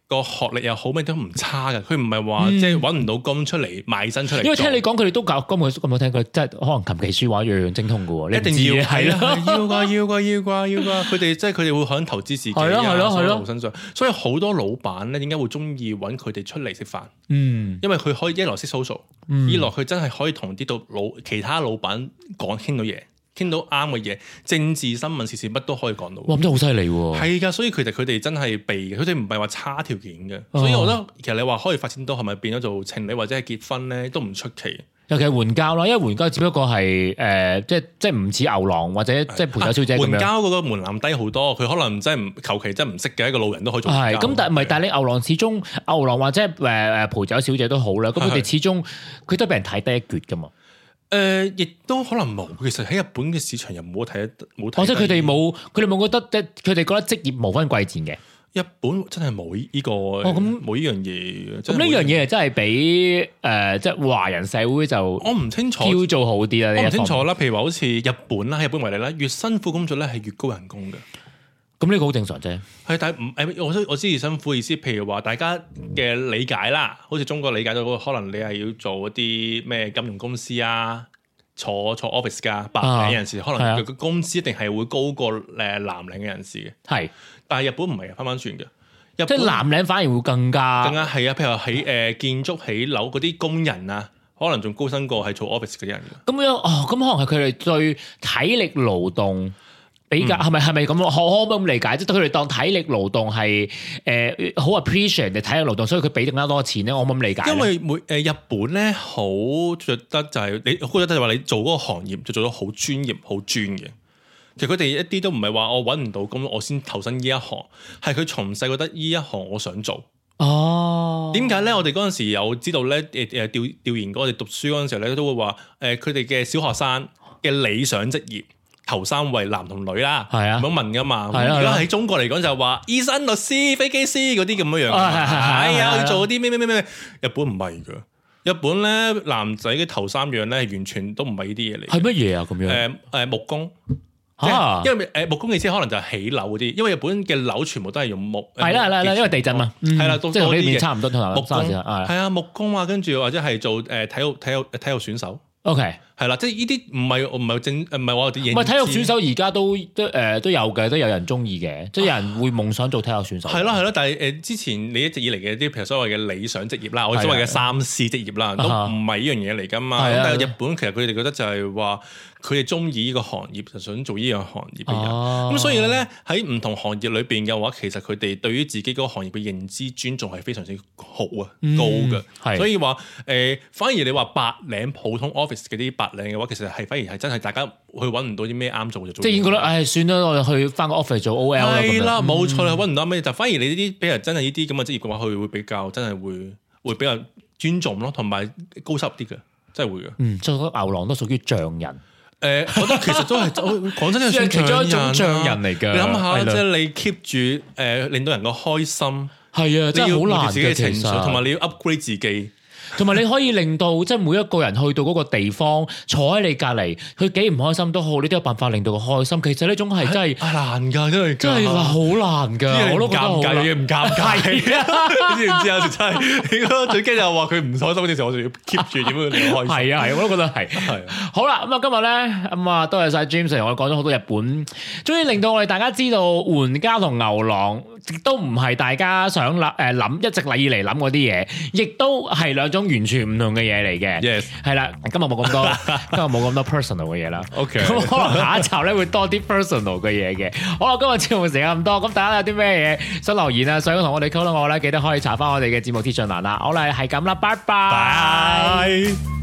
Speaker 2: 個學歷又好，咩都唔差嘅。佢唔係話即係揾唔到工出嚟賣身出嚟。
Speaker 1: 因為聽你講佢哋都教咁，咁我聽佢即係可能琴棋書畫樣樣精通嘅喎。你
Speaker 2: 一定要係啦，要㗎要㗎要㗎要㗎。佢哋即係佢哋會可能投資自己啊，喺路身上。所以好多老闆咧，點解會中意揾佢哋出嚟食飯？嗯，因為佢可以一來識 social，二來佢真係可以同啲到老其他老闆講傾到嘢。傾到啱嘅嘢，政治新聞時事乜都可以講到。
Speaker 1: 哇，咁真係好犀利喎！
Speaker 2: 係㗎，所以其實佢哋真係避嘅，佢哋唔係話差條件嘅。哦、所以我覺得其實你話可以發展到係咪變咗做情侶或者係結婚咧，都唔出奇。
Speaker 1: 尤其係援交啦，因為援交只不過係誒、呃，即係即係唔似牛郎或者即係陪酒小姐咁樣。
Speaker 2: 援交嗰個門檻低好多，佢可能真係唔求其真係唔識嘅一個路人都可以做。係
Speaker 1: 咁，但係唔係？但係你牛郎始終牛郎或者誒誒陪酒小姐都好啦，咁佢哋始終佢都俾人睇低一橛㗎嘛。
Speaker 2: 誒，亦、呃、都可能冇。其實喺日本嘅市場又冇睇得冇睇。
Speaker 1: 或者佢哋冇，佢哋冇覺得即係佢哋覺得職業無分貴賤嘅。
Speaker 2: 日本真係冇呢個，哦咁冇呢樣嘢。
Speaker 1: 咁呢樣嘢係真係比誒即係華人社會就
Speaker 2: 我唔清楚，
Speaker 1: 叫做好啲啦。
Speaker 2: 我唔清楚啦。譬如話好似日本啦，日本為例啦，越辛苦工作咧係越高人工嘅。
Speaker 1: 咁呢個好正常啫。
Speaker 2: 係，但係唔誒，我我知而辛苦意思，譬如話大家嘅理解啦，好似中國理解到可能你係要做一啲咩金融公司啊。坐坐 office 噶白領人士，啊、可能佢個工資一定係會高過誒藍領嘅人士嘅。係、啊，但係日本唔係翻翻轉嘅，日本
Speaker 1: 即係藍領反而會更加
Speaker 2: 更加係啊！譬如話喺誒建築起樓嗰啲工人啊，可能仲高薪過係做 office 嗰啲人嘅。咁
Speaker 1: 樣哦，咁可能係佢哋對體力勞動。比較係咪係咪咁咯？可可唔可以咁理解？即係佢哋當體力勞動係誒好 appreciate 嘅體力勞動，所以佢俾更加多錢咧。我可唔可以咁理解？
Speaker 2: 因為每誒、呃、日本咧好覺得就係、是、你覺得就係話你做嗰個行業就做得好專業、好專嘅。其實佢哋一啲都唔係話我揾唔到工，我先投身呢一行，係佢從細覺得呢一行我想做。哦，點解咧？我哋嗰陣時有知道咧誒誒調調研過，我哋讀書嗰陣時候咧都會話誒佢哋嘅小學生嘅理想職業。頭三位男同女啦，係啊，咁樣問噶嘛。係啊，如果喺中國嚟講就話醫生、律師、飛機師嗰啲咁樣樣。係啊，要做啲咩咩咩咩。日本唔係噶，日本咧男仔嘅頭三樣咧完全都唔係呢啲嘢嚟。係乜嘢啊？咁樣誒誒木工嚇，因為誒木工嘅意思可能就係起樓嗰啲，因為日本嘅樓全部都係用木。係啦係啦係啦，因為地震嘛。係啦，即係同呢邊差唔多同木工係啊木工啊，跟住或者係做誒體育體育體育選手。OK。係啦，即係呢啲唔係唔係正唔係話我哋唔係體育選手，而家都都誒、呃、都有嘅，都有人中意嘅，即係有人會夢想做體育選手。係咯係咯，但係誒、呃、之前你一直以嚟嘅啲譬如所謂嘅理想職業啦，我所謂嘅三 C 職業啦，的都唔係呢樣嘢嚟㗎嘛。的但係日本其實佢哋覺得就係話佢哋中意呢個行業，就想做呢樣行業嘅人。咁、啊、所以咧喺唔同行業裏邊嘅話，其實佢哋對於自己嗰個行業嘅認知尊重係非常之好啊、嗯、高嘅。的所以話誒、呃，反而你話白領普通 office 嗰啲白領嘅話，其實係。反而係真係大家去揾唔到啲咩啱做就做，即係已經覺得唉算啦，我哋去翻個 office 做 O L 啦。係啦，冇錯啦，揾唔到咩就反而你呢啲俾人真係呢啲咁嘅職業嘅話，佢會比較真係會會比較尊重咯，同埋高收入啲嘅，真係會嘅。嗯，所以牛郎都屬於匠人。誒，我覺得其實都係講真係算其中一種匠人嚟嘅。你諗下，即係你 keep 住誒令到人個開心，係啊，真係好難嘅情緒，同埋你要 upgrade 自己。同埋你可以令到即係每一個人去到嗰個地方坐喺你隔離，佢幾唔開心都好，你都有辦法令到佢開心。其實呢種係真係難㗎，真係真係好難㗎。我都覺得好難，唔尷尬。你知唔知有時真係最驚就話佢唔開心嗰陣時，我就要 keep 住點樣令佢開心。係啊係，我都覺得係。係好啦，咁啊今日咧咁啊多謝晒 James 同我講咗好多日本，終於令到我哋大家知道援交同牛郎亦都唔係大家想諗誒諗一直以嚟諗嗰啲嘢，亦都係兩種完全唔同嘅嘢嚟嘅。Yes， 係啦，今日冇咁多，今日冇咁多 personal 嘅嘢啦。OK，咁可能下一集咧會多啲 personal 嘅嘢嘅。好啦，今日節目時間咁多，咁大家有啲咩嘢想留言啊，想同我哋溝通我咧，記得可以查翻我哋嘅節目資訊欄啦。好啦，係咁啦，拜拜。